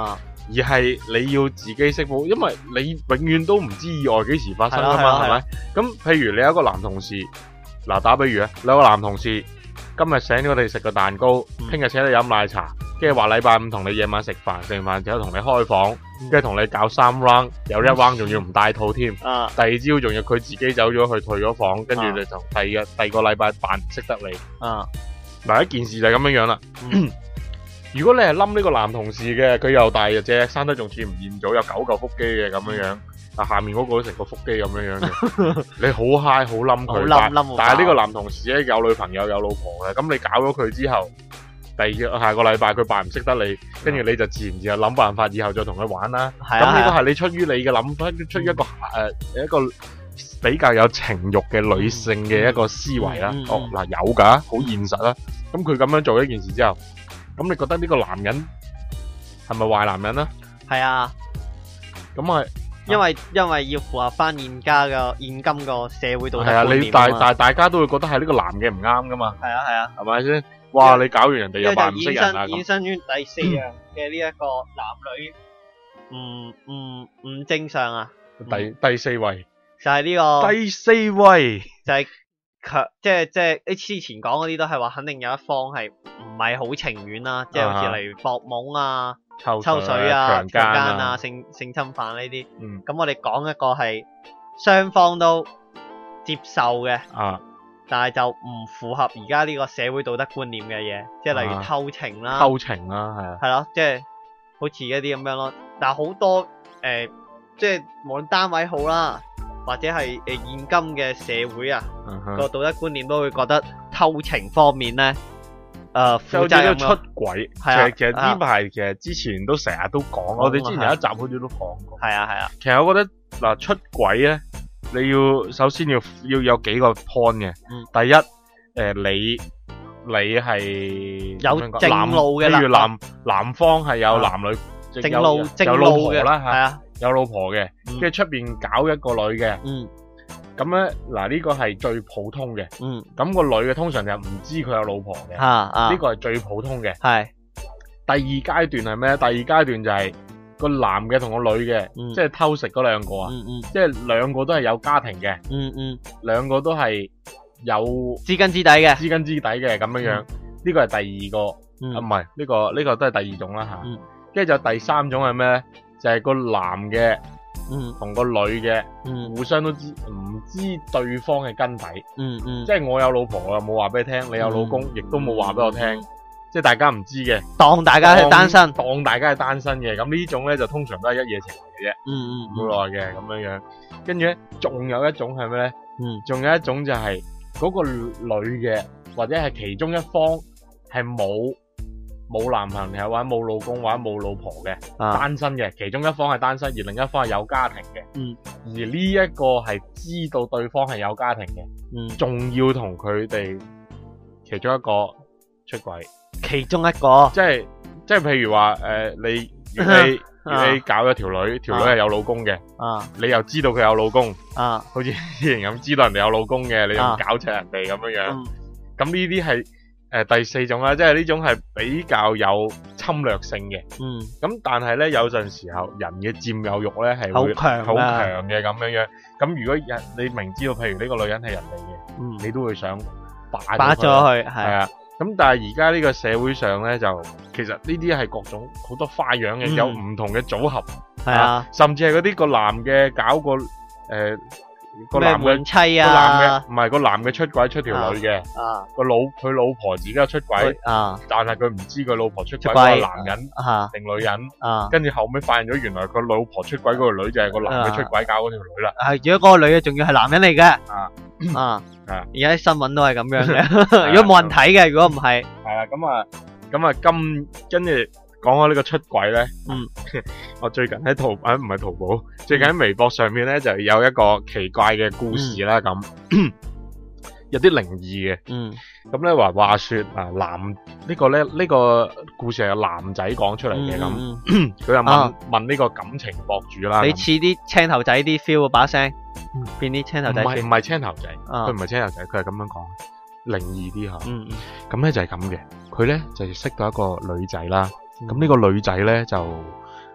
而係你要自己識報，因為你永遠都唔知意外幾時發生噶嘛，係咪係咯係咯？ 咁譬如你有一個男同事，嗱打比如啊，你有個男同事今日請咗我哋食個蛋糕， 嗯聽日請你飲奶茶，跟住話禮拜五同你夜晚食飯，食完飯之後同你開房，跟住同你搞三 round，有一 round 仲要唔帶套添。 啊第二朝仲要佢自己走咗去退咗房，跟住啊你就第二日第二個禮拜扮唔識得你。 啊嗱一件事就係咁樣樣啦。 嗯如果你係冧呢個男同事嘅，佢又大隻，生得仲似吳彥祖，有九嚿腹肌嘅咁樣樣，但下面嗰個都成個腹肌咁樣樣嘅，你好嗨好冧好佢，但冧冧好但係呢個男同事咧有女朋友有老婆嘅，咁你搞咗佢之後，第二下個禮拜佢扮唔識得你，跟住你就自然自然諗辦法，以後再同佢玩啦。 係啊係啊咁呢個係你出於你嘅諗法，出於一個誒、呃、一個比較有情慾嘅女性嘅一個思維啦。 嗯嗯嗯哦嗱有㗎，好現實啦。咁佢咁樣做一件事之後，咁你覺得呢個男人係咪壞男人啊？ 係啊， 咁係因為因為要符合翻現家嘅現今個社會道德係啊， 觀你大念啊嘛大大家都會覺得係呢個男嘅唔啱噶嘛， 係啊係啊， 係咪先？哇！你搞完人哋呢個就又扮唔識衍生人啊咁衍。生於第四樣嘅呢一個男女唔唔唔正常啊， 第第四位， 就係呢個第四位就係強，即係即係你之前講嗰啲都係話肯定有一方係唔係好情願啦，即係好似例如博懵啊、 抽抽水啊、 強姦強姦啊啊、，性性侵犯呢啲。 嗯咁我哋講一個係雙方都接受嘅， 啊但係就唔符合而家呢個社會道德觀念嘅嘢，即係例如啊偷情啦， 偷情啦，係啊， 係咯，即係好似一啲咁樣咯。但係好多誒、呃，即係無論單位好啦，或者係誒、呃、現今嘅社會啊， 嗯哼個道德觀念都會覺得偷情方面咧，誒、呃、 就好似都出負責任咯軌，其係啊實其實呢排其實之前都成日都講，我哋之前有一集好似都講過。 係啊係啊， 其實我覺得嗱出軌咧，你要首先要要有幾個 point 嘅。 嗯第一，誒、你你係有點樣講正路嘅啦男譬如男男方係有男女正路有正有老路嘅婆啦嚇， 係啊， 有老婆嘅， 嗯跟住出邊搞一個女嘅， 嗯咁咧嗱呢個係最普通嘅。 嗯咁、個女嘅通常就唔知佢有老婆嘅， 嚇啊， 呢個係最普通嘅。 係第二階段係咩？第二階段就係個男嘅同個女嘅， 嗯即係偷食嗰兩個啊， 嗯嗯即係兩個都係有家庭嘅， 嗯嗯兩個都係有知根知底嘅， 知根知底嘅咁樣樣。呢個係第二個， 嗯啊唔係呢個呢個都係第二種啦吓。 嗯跟住就第三種係咩咧？就係個男嘅嗯同個女嘅嗯互相都知唔知對方嘅根底， 嗯嗯， 即係我有老婆我又冇話俾你聽，你有老公亦都冇話俾我聽， 嗯即係大家唔知嘅。 當大家係單身， 當當大家係單身嘅，咁呢種咧就通常都係一夜情嚟嘅啫， 嗯嗯唔會耐嘅咁樣樣。跟住咧，仲有一種係咩咧？ 嗯仲有一種就係嗰個女嘅，或者係其中一方係冇冇男朋友或者冇老公或者冇老婆嘅， 啊單身嘅，其中一方係單身，而另一方係有家庭嘅。 嗯而呢一個係知道對方係有家庭嘅， 嗯， 仲要同佢哋其中一個出軌。 其中一個即係即係譬如話誒、呃，你如你如你搞咗條女，條女係有老公嘅， 啊你又知道佢有老公， 啊好似之前咁知道人哋有老公嘅，你又啊搞柒人哋咁樣樣。 嗯咁呢啲係誒第四種啦，即係呢種係比較有侵略性嘅。 嗯咁但係咧有陣時候人嘅佔有欲咧係會好強好啊強嘅咁樣樣。咁如果人你明知道，譬如呢個女人係人哋嘅， 嗯， 你都會想霸霸咗咗佢。 佢係係啊，咁但係而家呢個社會上咧，就其實呢啲係各種好多花樣嘅， 嗯有唔同嘅組合， 係啊， 甚至係嗰啲個男嘅搞個誒個咩男嘅換妻個男嘅啊唔係個男嘅出軌出條女嘅， 啊個老佢老婆自己有出軌， 啊但係佢唔知佢老婆出軌出軌嗰個男人啊定女人， 啊跟住後尾發現咗原來佢老婆出軌嗰個女就係個男嘅出軌搞嗰條女啦。 係，如果嗰個女嘅仲要係男人嚟嘅啊啊係啊而家啲新聞都係咁樣嘅，如果冇人睇嘅，如果唔係， 係啊，咁啊，咁啊，今跟住講開呢個出軌咧， 嗯， 我最近喺淘啊唔係淘寶，最近喺微博上面咧就有一個奇怪嘅故事啦，咁、有啲靈異嘅， 嗯咁咧話話說啊男、這個、呢個咧呢個故事係男仔講出嚟嘅，咁嗯佢就問、 啊問呢個感情博主啦，咁你似啲青頭仔啲 feel 把聲嗯， 變啲青頭仔唔係唔 feel， 係青頭仔， 啊佢唔係青頭仔，佢係咁樣講，靈異啲吓， 嗯嗯咁咧就係咁嘅，佢咧就識到一個女仔啦。 嗯咁呢個女仔咧就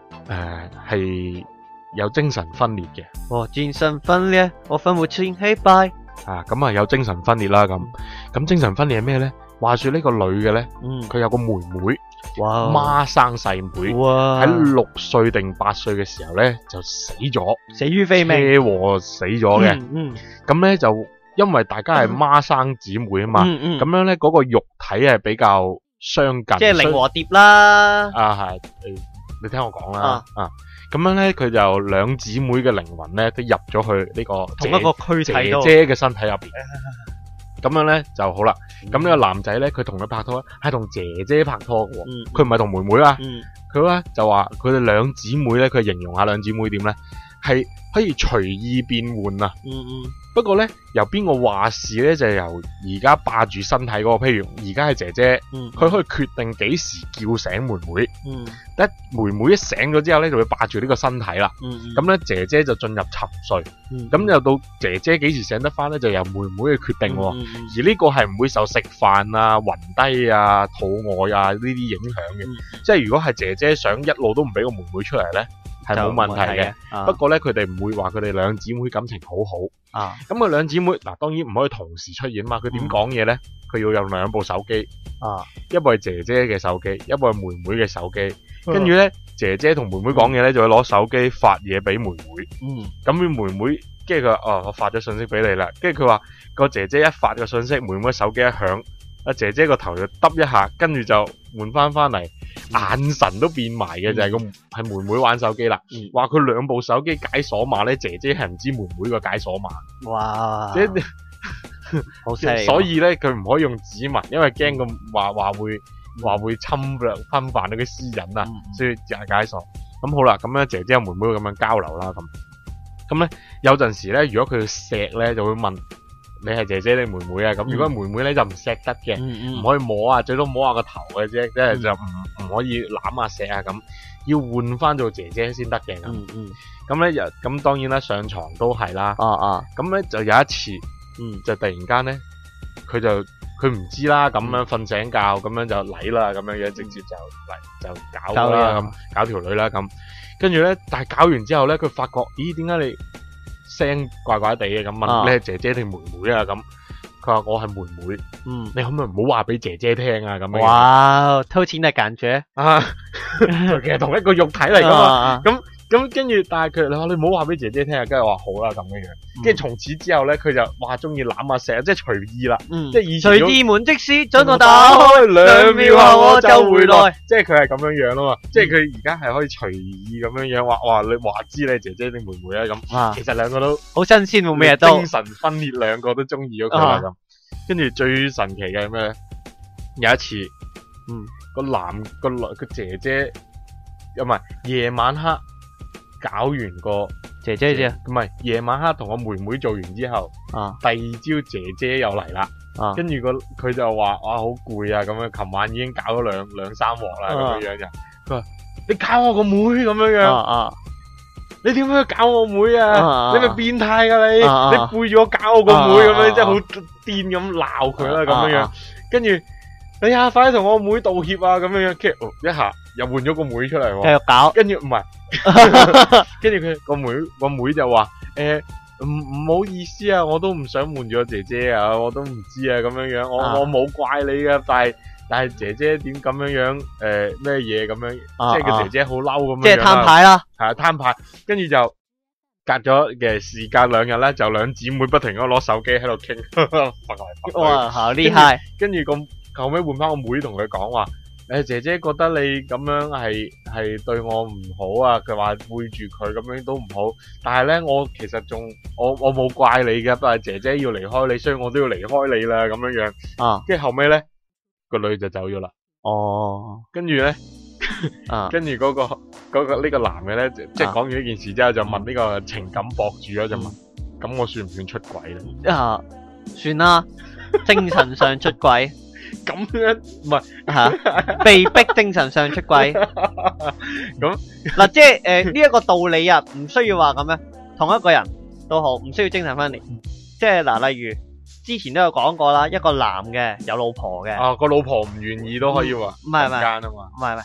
誒係有精神分裂嘅。 我精神分裂，我分不清黑白。 啊，咁啊有精神分裂啦，咁咁精神分裂係咩咧？話說呢個女嘅咧， 嗯， 佢有個妹妹， 哇， 孖生細妹， 哇， 喺六歲定八歲嘅時候咧就死咗， 死於非車命。 禍死咗嘅。 嗯嗯咁咧就因為大家係孖生姊妹啊嘛， 嗯嗯， 咁樣咧嗰個肉體係比較相近， 即係靈和碟啦。 啊係，誒你聽我講啦， 啊啊咁樣咧佢就兩姊妹嘅靈魂咧都入咗去呢個同一個軀姐體度。 姐嘅身體入邊，咁樣咧就好啦。咁呢個男仔咧佢同佢拍拖係同姐姐拍拖嘅喎， 嗯， 佢唔係同妹妹啊。 嗯佢咧就話佢哋兩姊妹咧，佢形容下兩姊妹點咧，係可以隨意變換啊。 嗯嗯不過咧，由邊個話事咧，就由而家霸住身體嗰個，譬如而家係姐姐， 嗯， 佢可以決定幾時叫醒妹妹。 嗯一妹妹一醒咗之後咧，就會霸住呢個身體啦。 嗯咁咧，姐姐就進入沉睡。 嗯， 咁又到姐姐幾時醒得翻咧，就由妹妹去決定喎。 嗯嗯而呢個係唔會受食飯啊、暈低啊、肚餓啊呢啲影響嘅。 嗯即係如果係姐姐想一路都唔俾個妹妹出嚟咧，係冇問題嘅。。 啊不過咧，佢哋唔會話佢哋兩姊妹感情好好。 啊， 咁佢兩姊妹嗱，當然唔可以同時出現嘛。佢點講嘢咧？佢要有兩部手機， 啊， 一部係姐姐嘅手機，一部係妹妹嘅手機。跟住咧，姐姐同妹妹講嘢咧，就會攞手機發嘢俾妹妹。 嗯咁佢妹妹，跟住佢話：哦，我發咗信息俾你啦。跟住佢話個姐姐一發個信息，妹妹手機一響，阿姐姐個頭就耷一下，跟住就換翻翻嚟，眼神都變埋嘅，就係個係妹妹玩手機啦。 嗯， 話佢兩部手機解鎖碼咧，姐姐係唔知妹妹個解鎖碼， 哇， 即係好犀利。 所以咧佢唔可以用指紋，因為驚咁話話會話會侵略侵犯到佢私隱啊， 嗯所以就係解鎖。咁好啦，咁咧姐姐同妹妹會咁樣交流啦，咁咁咧有陣時咧，如果佢錫咧，就會問你係姐姐定妹妹啊？咁如果妹妹咧就唔錫得嘅。 嗯嗯， 唔可以摸啊，最多摸下個頭嘅啫，即係就唔唔可以攬啊錫啊咁，要換翻做姐姐先得嘅咁。 嗯嗯， 咁咧咁當然啦，上床都係啦。 啊啊， 咁咧就有一次， 嗯就突然間咧，佢就佢唔知啦，咁樣瞓醒覺，咁樣就嚟啦，咁樣樣直接就嚟就搞搞啦， 啦咁搞條女啦咁。跟住咧，但係搞完之後咧，佢發覺，咦，點解你聲怪怪地嘅咁問啊你係姐姐定妹妹啊咁？佢話我係妹妹。 嗯， 你可唔可以唔好話俾姐姐聽啊？咁樣哇，偷錢嘅感覺。 啊，其實同一個肉體嚟噶嘛。 啊咁咁跟住，但係佢你話你唔好話俾姐姐聽啊，跟住我話好啦咁樣樣。跟住從此之後咧，佢就哇中意攬啊錫啊，即係隨意啦。 嗯， 即係以前隨意門的士准我打開，兩秒後我就回來。 即係佢係咁樣樣咯嘛。即係佢而家係可以隨意咁樣樣話，哇你話知你係姐姐定妹妹啊咁。 啊， 其實兩個都好新鮮喎，咩都精。神分裂，兩個都中意咗佢啦咁。跟住最神奇嘅係咩咧？有一次， 嗯， 個男個女個姐姐，唔係夜晚黑搞完個姐姐姐。 唔係夜晚黑同我妹妹做完之後， 啊第二朝姐姐又嚟啦， 啊， 跟住個佢就話哇好攰啊咁樣，琴晚已經搞咗兩兩三鑊啦咁樣樣就，佢話你搞我個妹咁樣樣， 啊啊， 你點解搞我妹啊？ 啊你咪變態噶你， 啊啊你背住我搞我個妹咁樣， 啊啊即係好癲咁鬧佢啦咁樣樣啊， 跟住哎呀快啲同我妹道歉啊咁樣樣，跟住哦一下又換咗個妹出嚟喎， 繼續搞。 跟住唔係，跟住佢個妹個妹就話誒唔唔好意思啊，我都唔想瞞住我姐姐啊，我都唔知啊咁樣樣，我啊我冇怪你噶，但係但係姐姐點咁樣樣誒咩嘢咁樣， 啊即係個姐姐好嬲咁樣樣啦， 即係攤牌啦。 係啊攤牌，跟住就隔咗嘅時間兩日咧，就兩姊妹不停咁攞手機喺度傾，揈嚟揈去。 哇，好厲害。 跟住咁後尾換翻個妹同佢講話，誒姐姐覺得你咁樣係係對我唔好啊，佢話背住佢咁樣都唔好，但係咧我其實仲我我冇怪你嘅，但係姐姐要離開你，所以我都要離開你啦咁樣樣。 啊， 跟住後尾咧個女就走咗啦， 哦， 跟住咧。 啊， 跟住嗰、個嗰、個呢、個男嘅咧，即係講完呢件事之後，就問呢個情感博主啦，就問：咁、我算唔算出軌咧？ 啊，算啦，精神上出軌。 咁樣唔係吓，被逼精神上出軌。 咁嗱，即係誒呢一個道理啊，唔需要話咁樣，同一個人都好，唔需要精神分裂。即係嗱，例如之前都有講過啦，一個男嘅有老婆嘅， 啊個老婆唔願意都可以話唔係唔係間啊嘛， 唔係唔係，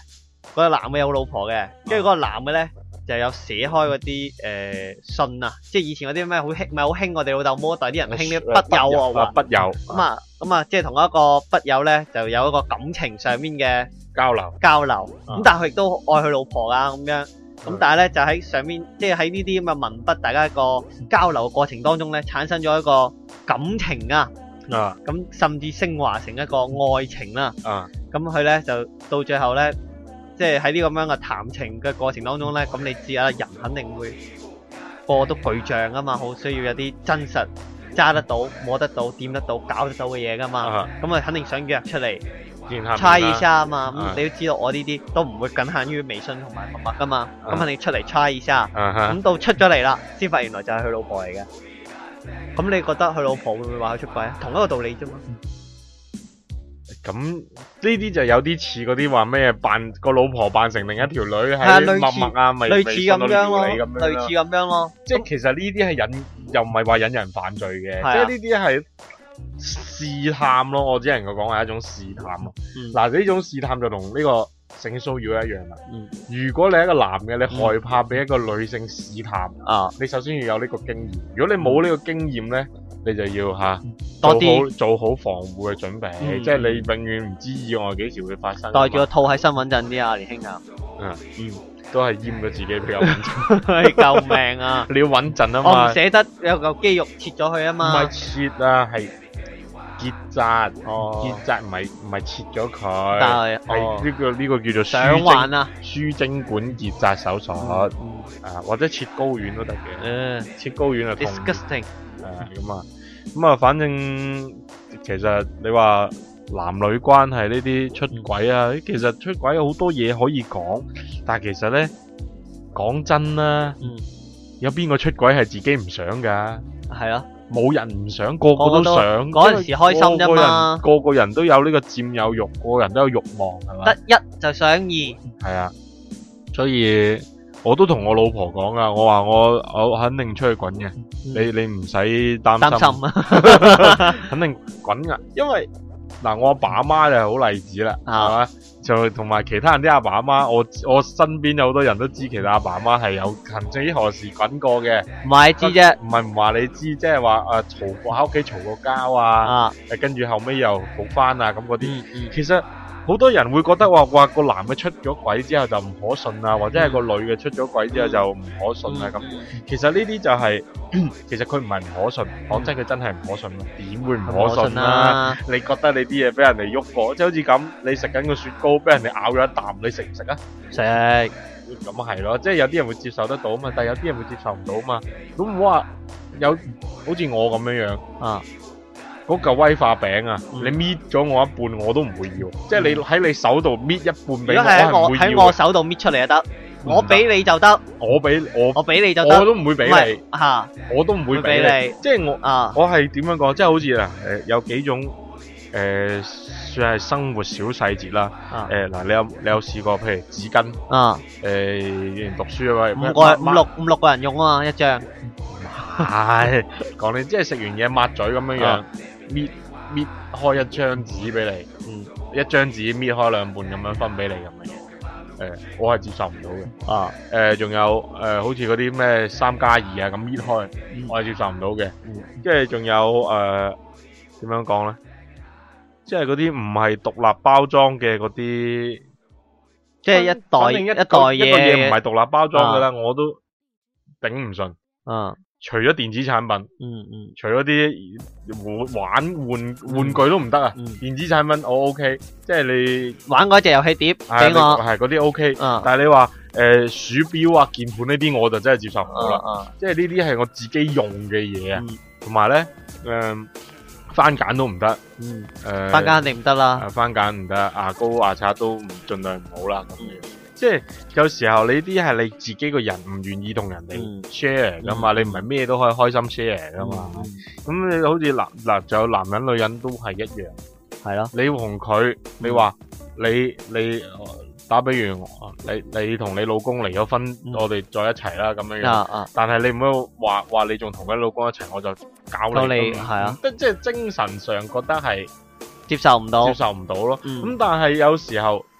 嗰個男嘅有老婆嘅，跟住嗰個男嘅咧就有寫開嗰啲誒信啊，即係以前嗰啲咩好興，咪好興我哋老豆嗰代啲人興啲筆友啊， 筆友咁啊咁啊，即係同一個筆友咧就有一個感情上面嘅交流交流， 啊咁但係佢亦都愛佢老婆啊咁樣。咁但係咧就喺上面，即係喺呢啲咁嘅文筆，大家一個交流嘅過程當中咧，產生咗一個感情啊， 啊咁甚至升華成一個愛情啦。 啊咁佢咧就到最後咧，即係喺呢咁樣嘅談情嘅過程當中咧，咁你知啊，人肯定會個個都巨象啊嘛，好需要有啲真實揸得到、摸得到、掂得到、搞得到嘅嘢噶嘛。 啊咁啊，肯定想約出嚟。 見下面啦猜一下啊嘛，咁、 啊你都知道我呢啲都唔會僅限於微信同埋陌陌噶嘛，咁、 啊肯定出嚟猜一下，咁、 啊哈到出咗嚟啦，先發現原來就係佢老婆嚟嘅。咁你覺得佢老婆會唔會話佢出軌啊？同一個道理啫嘛。 咁呢啲就有啲似嗰啲話咩扮個老婆扮成另一條女啊喺陌陌啊，咪類似咁樣咯， 咁樣類似咁樣咯。 即係其實呢啲係引又唔係話引人犯罪嘅， 係啊即係呢啲係試探咯。我只能夠講係一種試探咯。 嗯嗱呢種試探就同呢個性騷擾一樣啦。 嗯如果你係一個男嘅，你害怕俾一個女性試探， 啊， 你首先要有呢個經驗。如果你冇呢個經驗咧，你就要吓多做好啲做好防護嘅準備， 嗯即係你永遠唔知意外幾時會發生。 袋住個套喺身穩陣啲啊，年輕啊， 嗯嗯，都係閹咗自己比較穩陣。 救命啊！ 你要穩陣啊我唔嘛， 捨得有嚿肌肉切咗佢啊唔嘛係。切啊，係結紮。 哦， 結紮唔係唔係切咗佢， 但係哦係呢個呢個叫做想輸精玩啊！ 輸精管結紮手術嗯啊，或者切睾丸都得嘅， 嗯切睾丸啊痛 ，disgusting。 誒咁啊，咁啊，反正其實你話男女關係呢啲出軌啊，其實出軌有好多嘢可以講，但係其實咧講真啦， 嗯， 有邊個出軌係自己唔想㗎？ 係咯。 冇人唔想，個個都想。 嗰陣時開心啫嘛個個人個個人都有呢個佔有欲，個個人都有慾望，係嘛？ 得一就想二。 係啊，所以我都同我老婆講啊，我話我我肯定出去滾嘅，你你唔使擔擔心， 心啊！ 肯定滾噶，因為嗱我阿爸阿媽就係好例子啦，係啊嘛？就同埋其他人啲阿爸阿媽，我我身邊有好多人都知，其實阿爸阿媽係有曾經何時滾過嘅。 唔係知啫。 唔係唔話你知，即係話誒嘈過喺屋企嘈過交啊， 啊， 誒跟住後尾又好翻啊咁嗰啲。 嗯嗯其實好多人會覺得話話個男嘅出咗軌之後就唔可信啊，或者係個女嘅出咗軌之後就唔可信啊咁。其實呢啲就係、其實佢唔係唔可信，講真佢真係唔可信咯，點會唔可信啊？ 啊！ 你覺得你啲嘢俾人哋喐過，即係好似咁，你食緊個雪糕俾人哋咬咗一啖，你食唔食啊？ 食咁係咯，即係有啲人會接受得到嘛，但係有啲人會接受唔到嘛。咁唔好話有好似我咁樣樣， 啊， 嗰嚿威化餅啊， 嗯你搣咗我一半我都唔會要，即係你喺你手度搣一半如俾我， 果係喺我我係唔會喺要嘅。 我手度搣出嚟就得， 唔得我俾你就得， 我俾我我俾你就得， 我都唔會俾唔係你， 嚇， 我都唔會會俾俾你。即係我啊， 我係點樣講？即係好似嗱誒有幾種誒、呃算係生活小細節啦。 啊誒嗱、你有你有試過譬如紙巾啊， 誒以前讀書啊嘛， 五個五六五六個人用啊嘛，一張， 係講你即係食完嘢抹嘴咁樣樣啊， 搣搣開一張紙俾你， 嗯一張紙搣開兩半咁樣分俾你咁樣嘢。誒、我係接受唔到嘅。 啊， 誒、仲有誒、好似嗰啲咩三加二啊咁搣開， 嗯我係接受唔到嘅。 嗯跟住仲有誒點樣講咧？即係嗰啲唔係獨立包裝嘅嗰啲， 即係一袋反正一一袋個一個嘢唔嘢， 係獨立包裝嘅啦，我都頂唔順。 啊， 除咗電子產品， 嗯嗯除咗啲玩玩玩玩具都唔得啊！ 嗯， 電子產品我 OK，即係你玩嗰隻遊戲碟係俾我， 係嗰啲 OK， 啊但係你話誒鼠標啊、鍵盤呢啲我就真係接受唔到啦。 啊即係呢啲係我自己用嘅嘢啊嗯， 同埋咧誒番梘都唔得， 嗯， 誒翻間肯定唔得啦， 啊番梘唔得，牙膏牙刷都唔盡量唔好啦咁樣。即係有時候你啲係你自己個人唔願意同人哋嗯 share 噶嘛， 嗯你唔係咩都可以開心 share 噶嘛。 嗯咁你好似男嗱，仲有男人女人都係一樣。 係咯， 你同佢，你話你你呃打比如你你同你老公離咗婚， 嗯我哋再一齊啦咁樣樣。 啊啊， 但係你唔好話話你仲同佢老公一齊，我就搞你搞你咁係啊， 即即係精神上覺得係接受唔到接，受唔到咯。咁、 嗯但係有時候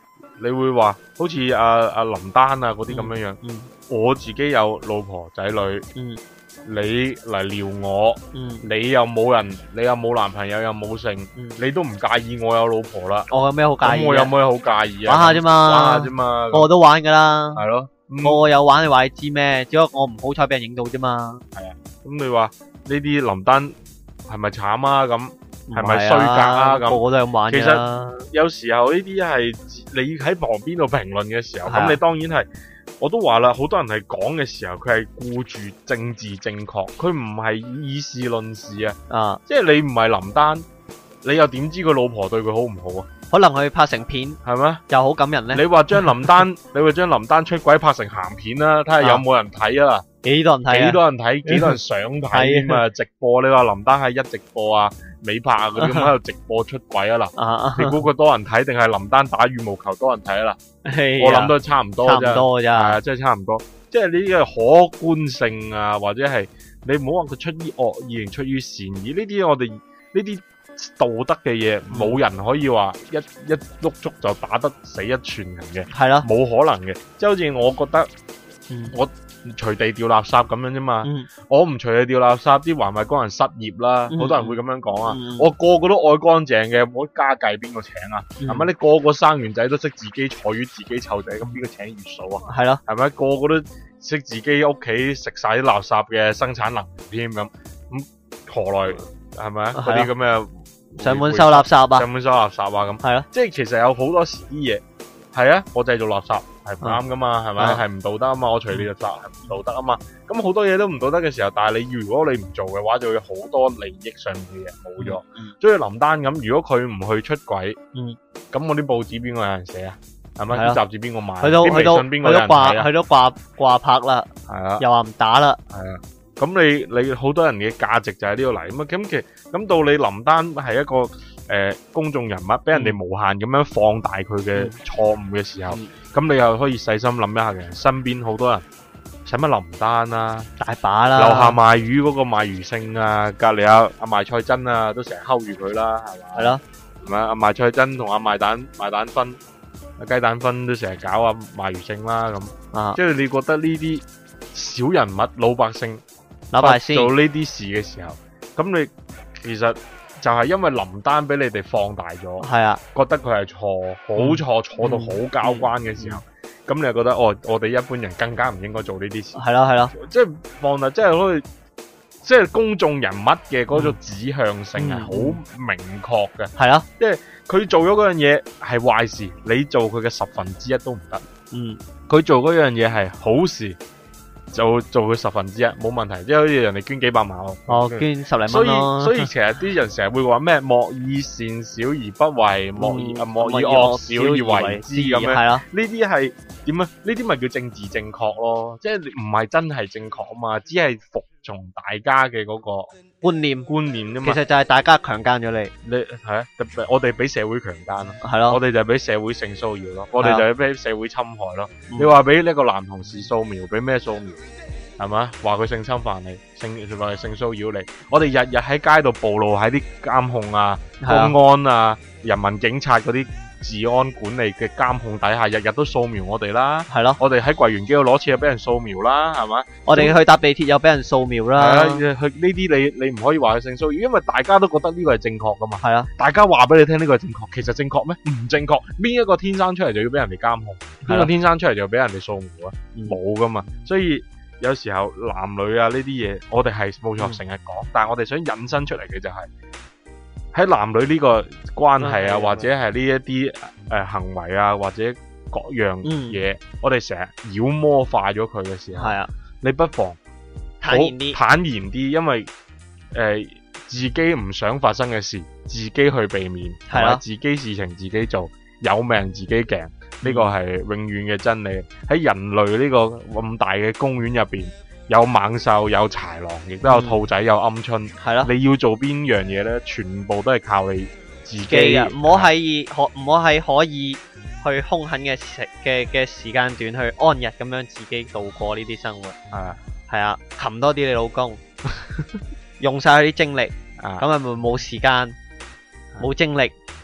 你會話好似阿阿林丹啊嗰啲咁樣樣， 嗯我自己有老婆仔女， 嗯你嚟撩我， 嗯， 你又冇人，你又冇男朋友又冇性， 嗯你都唔介意我有老婆啦， 我有咩好介咁意啊？ 我有冇嘢好介意啊？ 玩下啫嘛， 玩下啫嘛， 個個都玩噶啦， 係咯，咁個個有玩你話你知咩？只不過我唔好彩俾人影到啫嘛。 咁你話呢啲林丹係咪慘啊？咁係咪唔係衰格啊？咁個個都係咁玩㗎啦。 有時候呢啲係你喺旁邊度評論嘅時候， 係啊咁你當然係，我都話啦，好多人係講嘅時候，佢係顧住政治正確，佢唔係以事論事啊。 啊， 即係你唔係林丹，你又點知佢老婆對佢好唔好啊？ 可能佢拍成片係咩？ 又好感人咧。 你話將林丹，你話將林丹出軌拍成鹹片啦，睇下有冇人睇啊？ 幾多人睇啊？ 幾多人睇？幾多人想睇咁啊？直播你話林丹係一直播啊、美拍啊嗰啲咁喺度直播出軌啊嗱？ 啊， 你估佢多人睇定係林丹打羽毛球多人睇啊嗱？我我諗都係差唔多差唔啫，係多咋。 啊，真係差唔多。即係呢啲嘅可觀性啊，或者係你唔好話佢出於惡意定出於善意，呢啲我哋呢啲道德嘅嘢，冇人可以話一一碌竹就打得死一船人嘅， 係咯。 冇可能嘅。即係好似我覺得嗯我隨地掉垃圾咁樣啫嘛， 嗯我唔隨地掉垃圾，啲環衛工人失業啦，好嗯多人會咁樣講啊。 嗯我個個都愛乾淨嘅，冇得家計邊個請啊？ 嗯係咪？你個個生完仔都識自己坐月自己湊仔，咁邊個請月嫂啊？ 係咯。 係咪？個個都識自己屋企食晒啲垃圾嘅生產能源添咁，咁何來係咪啊？嗰啲咁嘅上門收垃圾啊。 上門收垃圾啊咁， 係咯。 即係其實有好多時啲嘢係啊，我製造垃圾係唔啱噶嘛，係咪？ 啊係唔道德啊嘛，我隨地垃圾係唔道德啊嘛，咁好多嘢都唔道德嘅時候，但係你如果你唔做嘅話，就會有好多利益上面嘅嘢冇咗。 嗯所以林丹咁，如果佢唔去出軌， 嗯， 咁我啲報紙邊個有人寫啊？係咪？ 係啊啲雜誌邊個買？ 佢都啲微佢都信邊個有佢都掛人睇啊？ 佢都掛掛拍啦， 係啊。 又話唔打啦。 係啊，咁你你好多人嘅價值就喺呢度嚟，咁啊咁其實咁到你林丹係一個誒、呃、公眾人物，俾人哋無限咁樣放大佢嘅錯誤嘅時候，咁、 嗯你又可以細心諗一下嘅，身邊好多人使乜林丹啊， 大把啦。 樓下賣魚嗰個賣魚勝啊，隔離阿阿賣菜真啊，都成日睺住佢啦，係嘛？ 係咯。 係咪阿賣菜真同阿賣蛋賣蛋分、阿雞蛋分都成日搞阿賣魚勝啦咁， 啊， 即係你覺得呢啲小人物老百姓老百姓做呢啲事嘅時候，咁你其實就係因為林丹俾你哋放大咗， 係啊。 覺得佢係錯，好錯，錯到好交關嘅時候，咁、你就覺得哦，我哋一般人更加唔應該做呢啲事， 係咯係咯。 即係放大，即係好似即係公眾人物嘅嗰種指向性係好明確嘅， 係咯。 佢做咗嗰樣嘢係壞事，你做佢嘅十分之一都唔得。 嗯， 佢做嗰樣嘢係好事，就做佢十分之一冇問題，即係好似人哋捐幾百萬喎。 哦，捐十零所以蚊咯。 所以其實啲人成日會話咩莫以善小而不為，莫以啊莫以惡小而為之咁樣。 係咯。 呢啲係點啊？呢啲咪叫政治正確咯？即係唔係真係正確啊嘛？只係服從大家嘅嗰個觀念， 觀念啫嘛。 其實就係大家強姦咗你。 你係啊，特別我哋俾社會強姦咯， 係咯。 我哋就係俾社會性騷擾咯，我哋就係俾社會侵害咯。 嗯你話俾呢個男同事掃描，俾咩掃描？係嘛？話佢性侵犯你，性話佢性騷擾你。我哋日日喺街度暴露喺啲監控啊、 係啊公安啊、人民警察嗰啲治安管理嘅監控底下，日日都掃描我哋啦。 係咯。 我哋喺櫃員機度攞錢又俾人掃描啦，係嘛？ 我哋去搭地鐵又俾人掃描係啊， 啦。 佢呢啲你你唔可以話佢性騷擾，因為大家都覺得呢個係正確噶嘛。 係啊。 大家話俾你聽呢個係正確，其實正確咩？唔正確。邊一個天生出嚟就要俾人哋監控？邊個天生出嚟就要俾人哋掃描啊？冇噶嘛。所以有時候男女啊呢啲嘢，我哋係冇錯成日講，但係我哋想引申出嚟嘅就係、喺男女呢個關係啊， 嗯或者係呢一啲誒行為啊，或者各樣嘢，我哋成日妖魔化咗佢嘅時候， 係啊， 你不妨坦然啲。 坦然啲，因為誒、呃、自己唔想發生嘅事，自己去避免， 係啊同埋自己事情自己做，有命自己鏡，呢個係永遠嘅真理。喺人類呢個咁大嘅公園入邊，有猛獸，有豺狼，亦都有兔仔，有鵪鶉。 係咯。 你要做邊樣嘢呢？全部都係靠你自己。 記啊，唔好喺可唔好喺可以去兇狠嘅時嘅嘅時間段去安逸咁樣自己度過呢啲生活。 係啊， 係啊，擒多啲你老公，用晒佢啲精力， 啊咁咪咪冇時間冇精力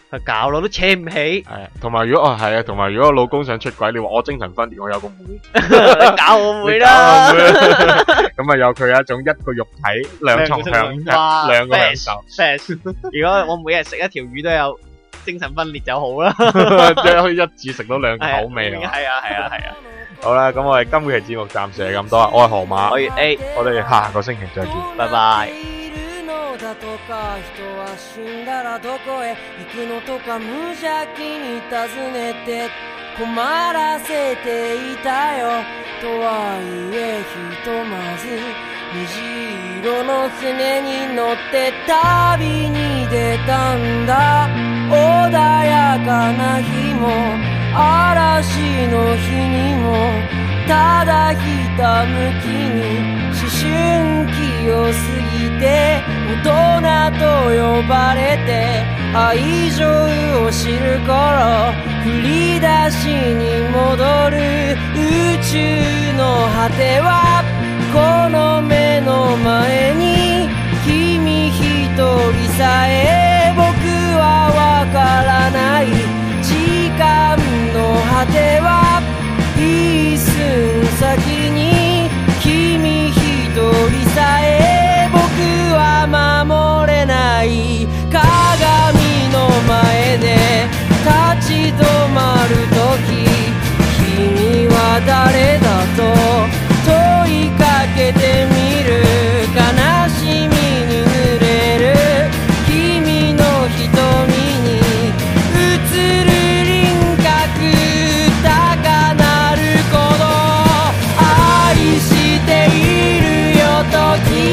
佢搞我都扯唔起， 係啊，同埋如果哦係啊，同埋如果我老公想出軌，你話我精神分裂，我有個妹， 你搞我妹你啦， 搞我妹啦咁啊有佢一種一個肉體兩重享哇兩個享受， best，如果我每日食一條魚都有精神分裂就好啦， 即係可以一次食到兩口味啊！ 係啊係啊係啊， 好啦，咁我哋今期節目暫時係咁多啦，我係河馬， 我係 A， 我哋下個星期再見。 拜拜。 だとか人は死んだらどこへ行くのとか無邪気に尋ねて困らせていたよとはいえひとまず虹色の船に乗って旅に出たんだ穏やかな日も嵐の日にもただひたむきに思春期を過ぎて大人と呼ばれて愛情を知る頃振り出しに戻る宇宙の果てはこの目の前に君一人さえ僕はわからない時間の果ては一寸先に君一人さえ僕は守れない鏡の前で立ち止まるとき君は誰だと問いかけてみる悲しみに濡れる君の瞳に映る輪郭高鳴る鼓動愛しているよと君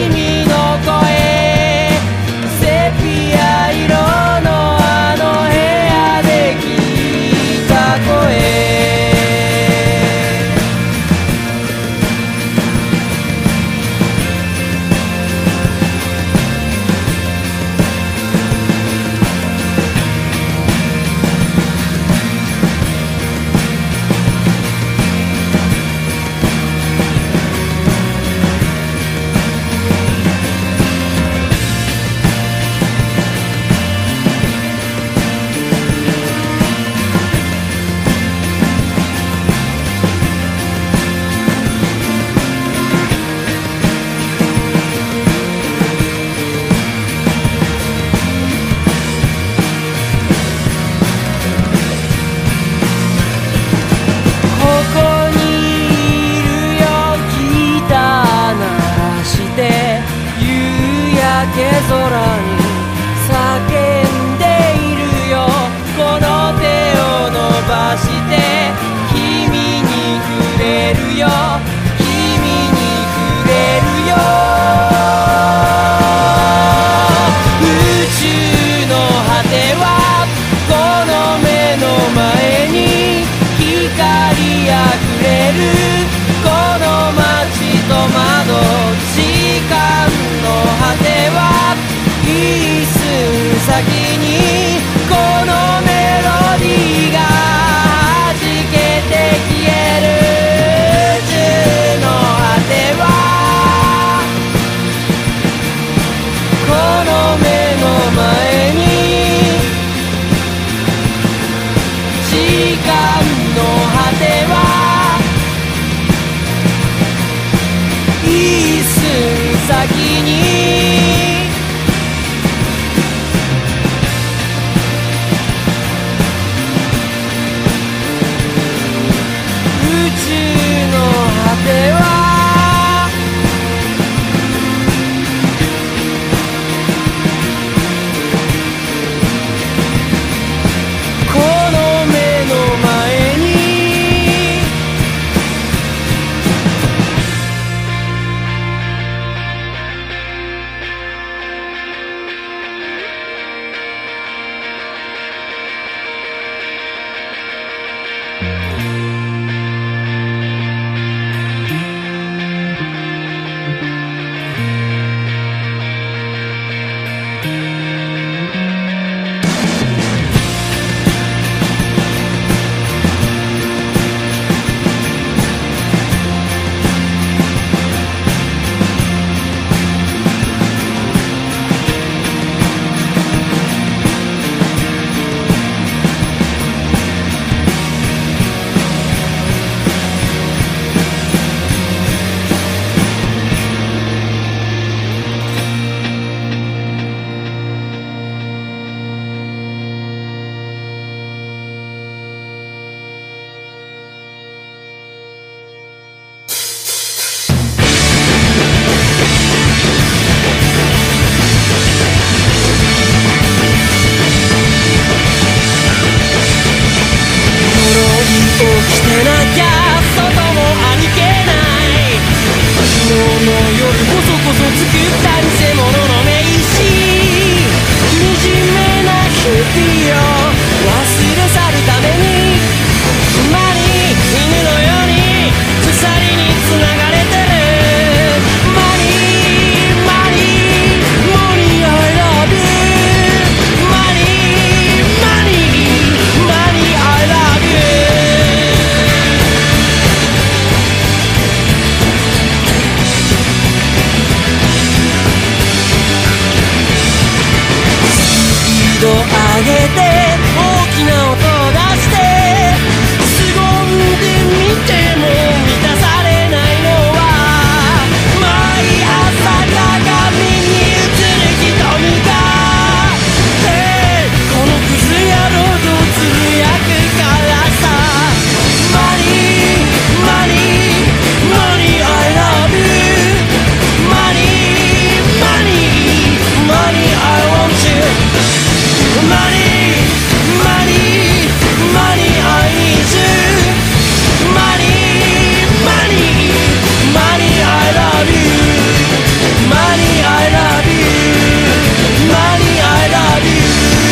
一度上げて大きな音を出して凄んでみても満たされないのは毎朝鏡に映る瞳が、hey、このクズ野郎とつぶやくからさ Money, money, money I love you Money, money, money I want you Money, money, money I need you Money, money, money I love you Money I love you Money I love you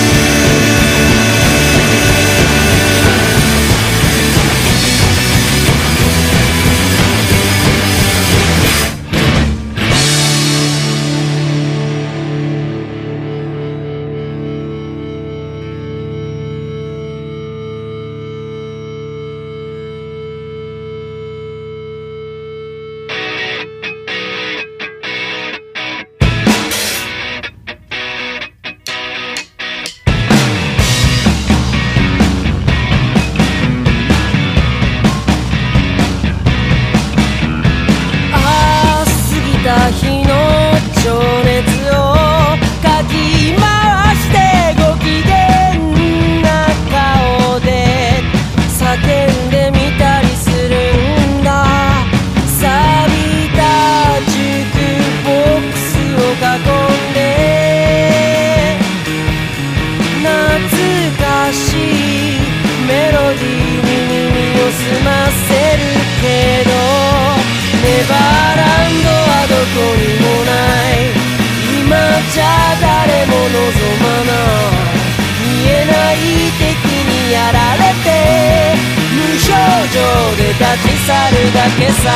立ち去るだけさ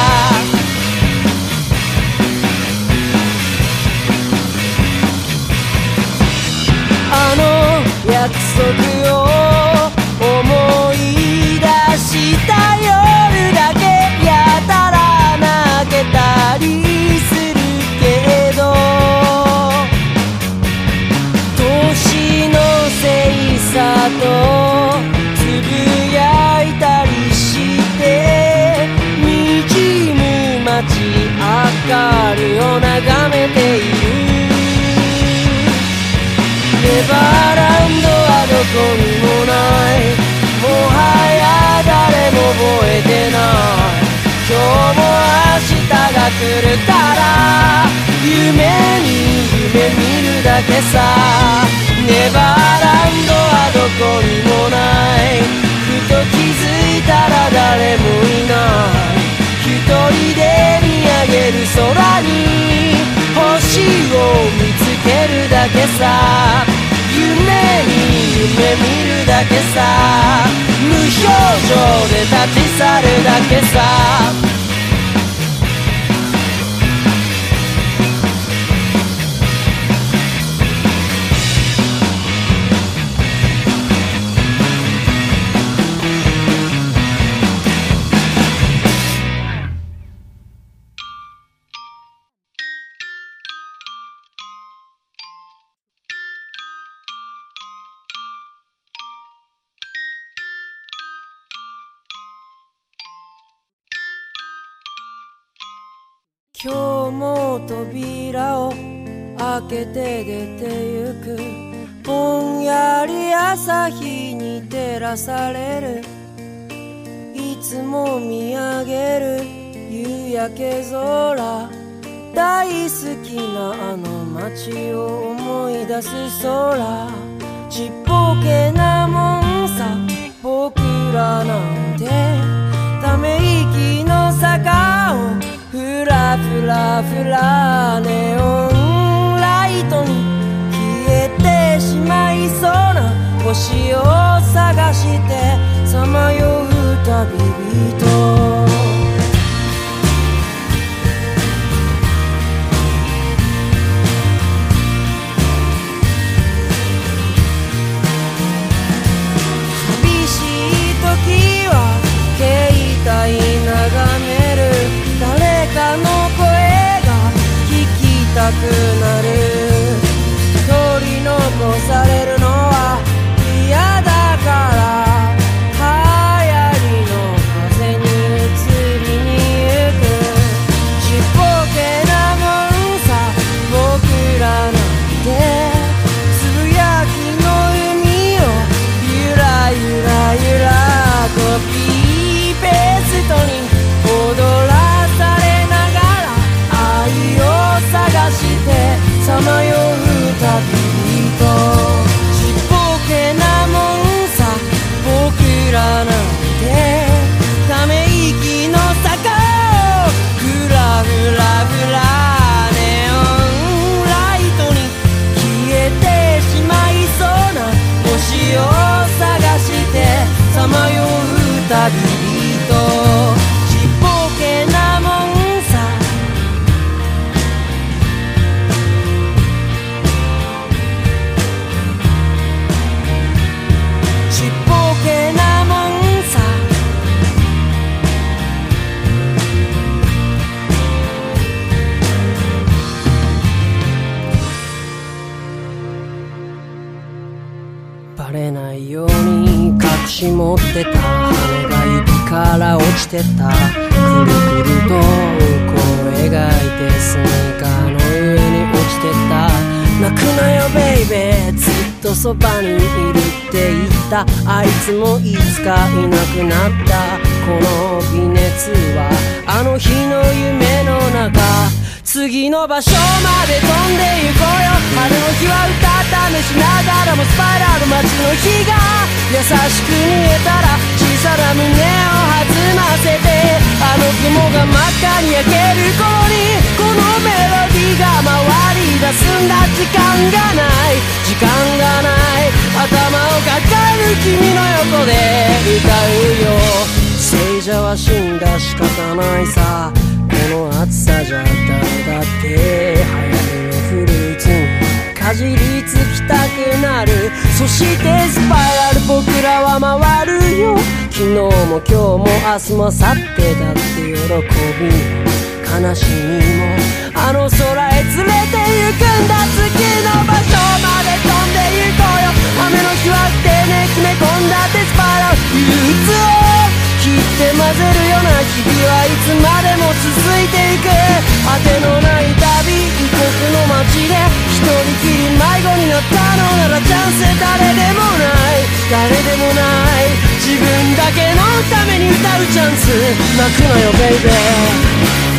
あの約束を思い出した夜だけやたら泣けたりするけど年のせいさとつぶやいたり滲む街明かりを眺めているネバーランドはどこにもないもはや誰も覚えてない今日も明日が来るから夢に夢見るだけさネバーランドはどこにもないふと気づいたら誰もいない一人で見上げる空に星を見つけるだけさ夢に夢見るだけさ無表情で立ち去るだけさ今日も扉を開けて出てゆくぼんやり朝日に照らされるいつも見上げる夕焼け空大好きなあの街を思い出す空ちっぽけなもんさ僕らなんてため息の坂をふらふらふらネオンライトに消えてしまいそうな星を探してさまよう旅人寂しい時は携帯眺める誰かの声が聞きたくなる取り残されるのバレないように隠し持ってた羽が指から落ちてた。くるくるとこう描いてスニーカーの上に落ちてた。泣くなよベイベー、ずっとそばにいるって言った。あいつもいつかいなくなった。この微熱はあの日の夢の中。次の場所まで飛んで行こうよ。春の日は歌試しながらもスパイラル街の日が優しく見えたら小さな胸を弾ませて、あの雲が真っ赤に焼ける頃にこのメロディーが回り出すんだ。時間がない時間がない、頭を抱える君の横で歌うよ。聖者は死んだ仕方ないさ、この暑さじゃ誰だって流行りのフルーツにかじりつきたくなる。そしてスパイラル僕らは回るよ。昨日も今日も明日も明後日だって喜び悲しみもあの空へ連れて行くんだ。次の場所まで飛んで行こうよ。雨の日は丁寧決め込んだってスパイラル憂鬱を切って混ぜるような日々はいつまでも続いていく。果てのない旅異国の街で一人きり迷子になったのならチャンス誰でもない誰でもない、自分だけのために歌うチャンス。泣くなよベイベー。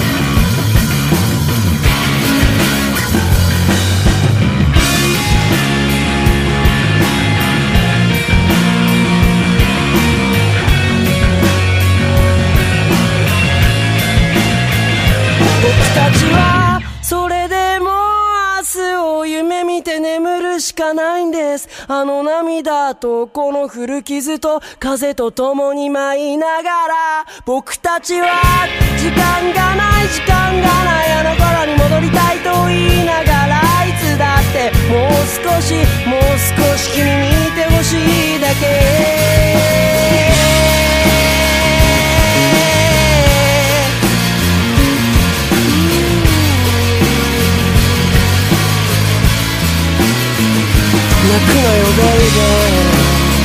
僕たちはそれでも明日を夢見て眠るしかないんです。あの涙とこの古傷と風と共に舞いながら僕たちは時間がない時間がないあの頃に戻りたいと言いながらいつだってもう少しもう少し君にいてほしいだけ。泣くなよベイベー。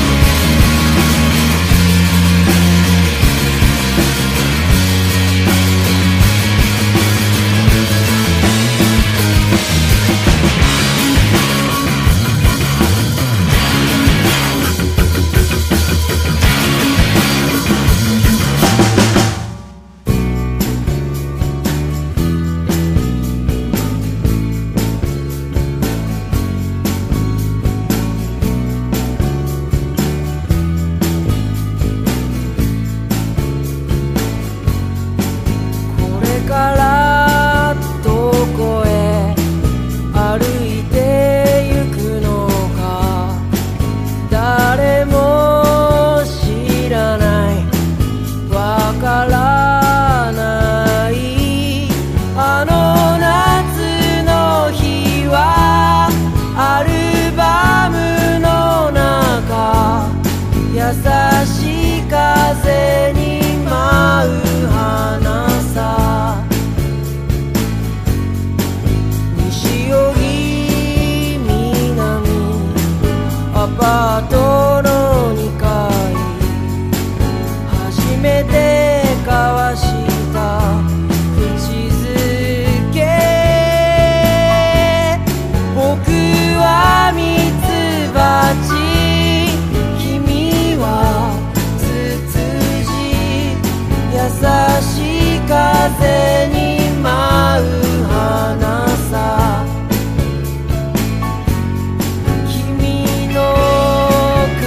風に舞う花さ君の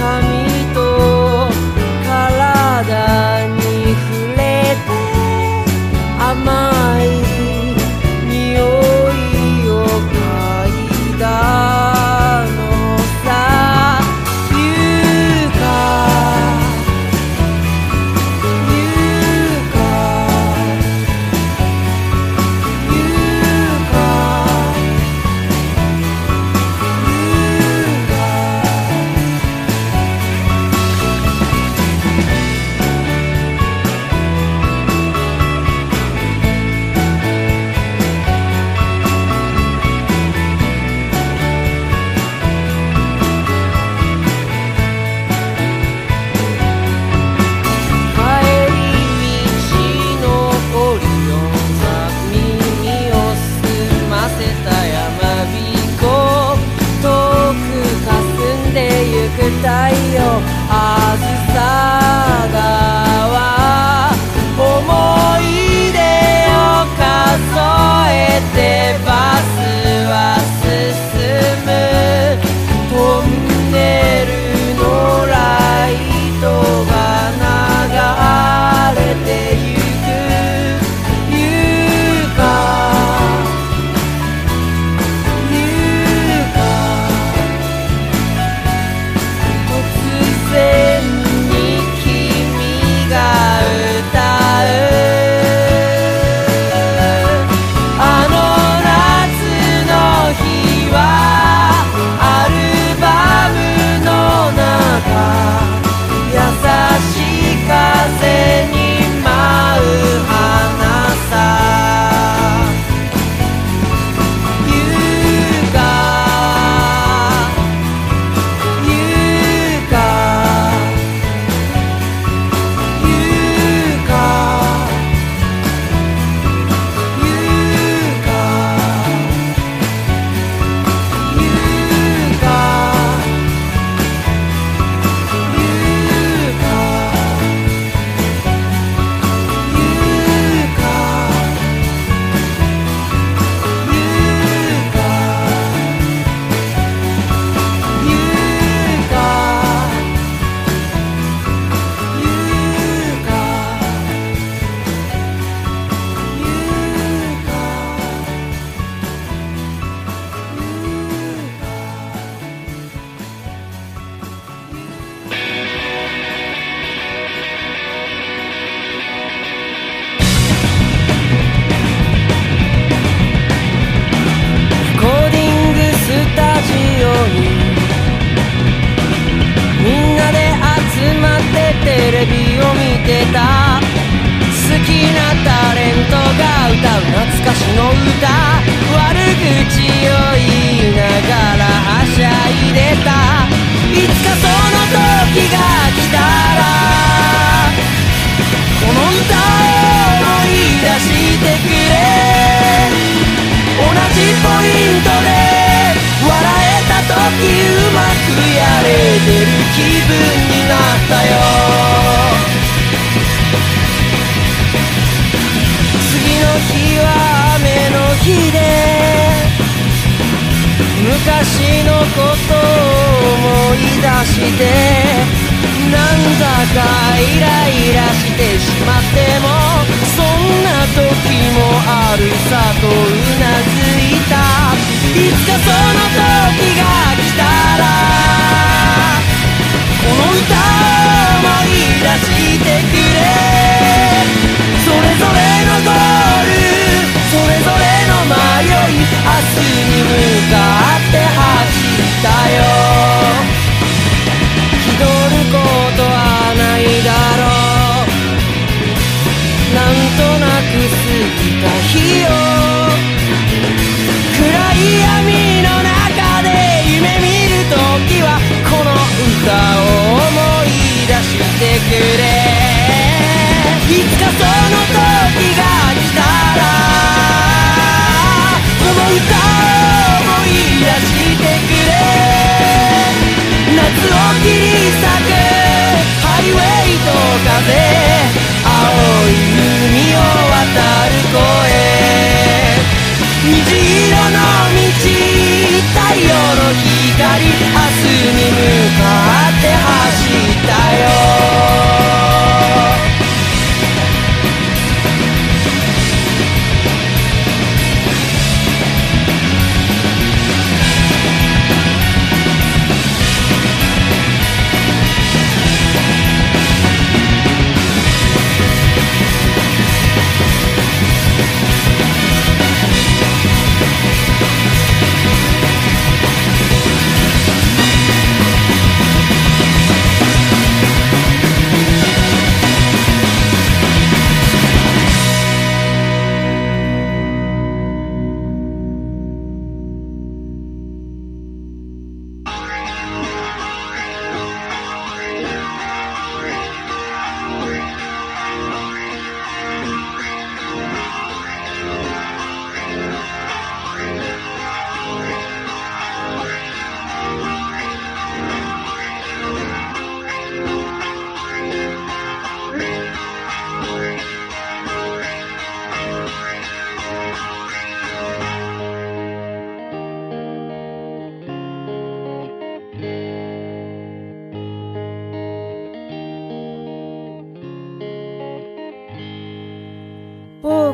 たいよあずさ川思い出を数えてバスは進むトンネルのライトが流れてゆくゆかゆか突然に君が歌うあの夏の日はアルバムの中優しい風に舞う花さゆかゆかゆかゆかゆかレコーディングスタジオにみんなで集まってテレビを見てた好きなタレントが歌う懐かしの歌悪口を言いながらはしゃいでたいつかその時が来たらこの歌を思い出してくれ同じポイントで笑えた時うまくやれてる気分になったよ次の日は雨の日で昔のことを思い出してなんだかイライラしてしまってもそんな時もあるさとうなずいたいつかその時が来たらこの歌を思い出してくれそれぞれのゴールそれぞれの迷い明日に向かって走ったよ気取ることはないだろうなんとなく過ぎた日を暗い闇の中で夢見るときはこの歌を思い出してくれいつかその時が来たらこの歌を思い出してくれ夏を切り裂くハイウェイと風青い海を渡る声虹色の道太陽の光明日に向かって走ったよ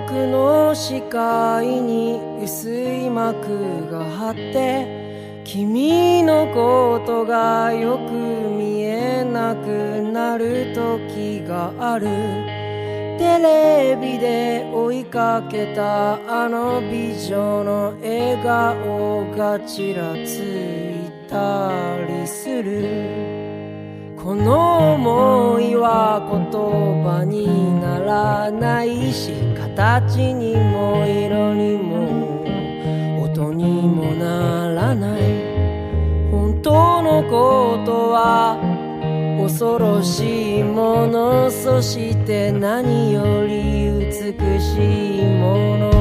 僕の視界に薄い膜が張って君のことがよく見えなくなる時がある。テレビで追いかけたあの美女の笑顔がちらついたりする。この想いは言葉にならないし、形にも色にも音にもならない。本当のことは恐ろしいもの、そして何より美しいもの。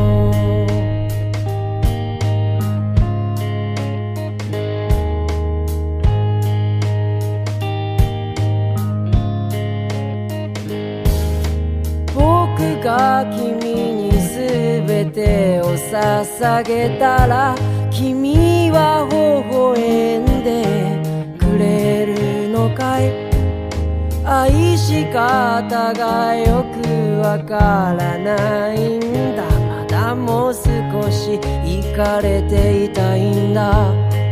僕が君に全てを捧げたら、君は微笑んでくれるのかい。愛し方がよくわからないんだ。まだもう少しイカれていたいんだ。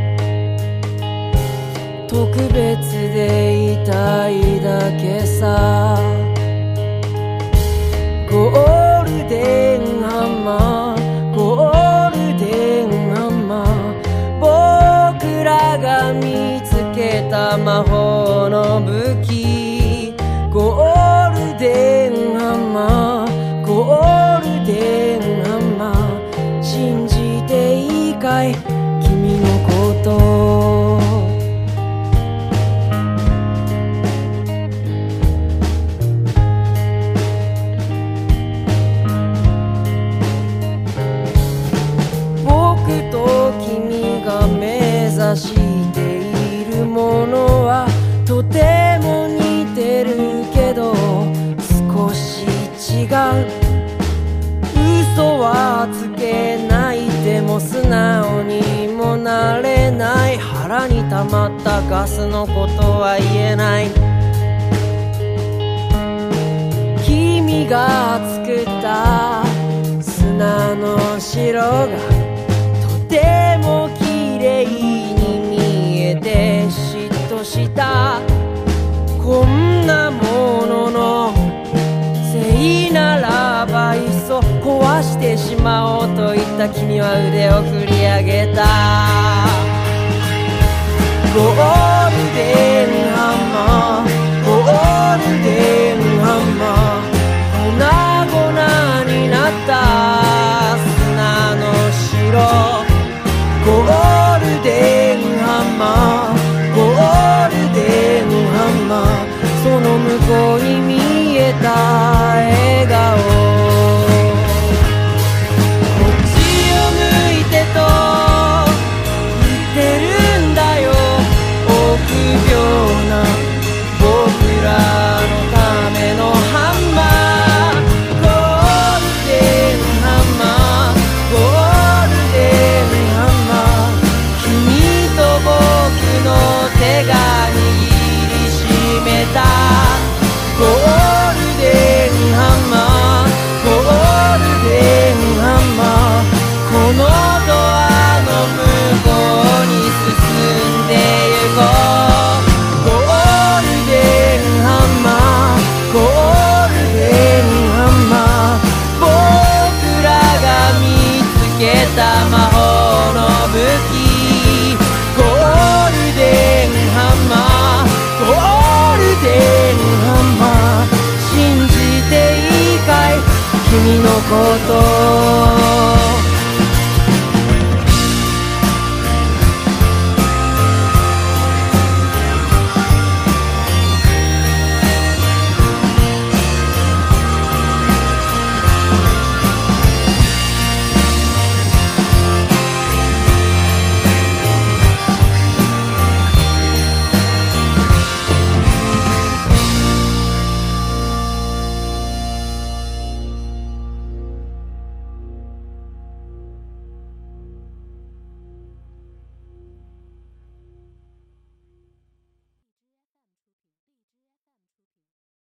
特別でいたいだけさ。ゴールデンハンマー、ゴールデンハンマー、僕らが見つけた魔法の武器。ゴールデンハンマー、ゴールデンハンマー、信じていいかい君のこと。僕と君が目指しているものはとても似てるけど少し違う。嘘はつけないでも素直にもなれない。腹に溜まったガスのことは言えない。君が作った砂の城がとても綺麗に見えて嫉妬した。こんなもののせいならばいっそ壊してしまおうと言った君は腕を振り上げた。ゴールデンハンマー、ゴールデンハンマー、粉々になった砂の城。ゴールデンハンマー、ゴールデンハンマー、その向こうに見えた笑顔。こっちを向いてと言ってるんだよ。臆病な僕らのためのハンマー。ゴールデンハンマー、ゴールデンハンマー、君と僕の手が握りしめた。ゴールデンハンマー、ゴールデンハンマー、このドアの向こうに進んでゆこう。ゴールデンハンマー、ゴールデンハンマー、僕らが見つけた魔法の武器。ゴールデンハンマー、ゴールデンハンマー、信じていいかい君のこと。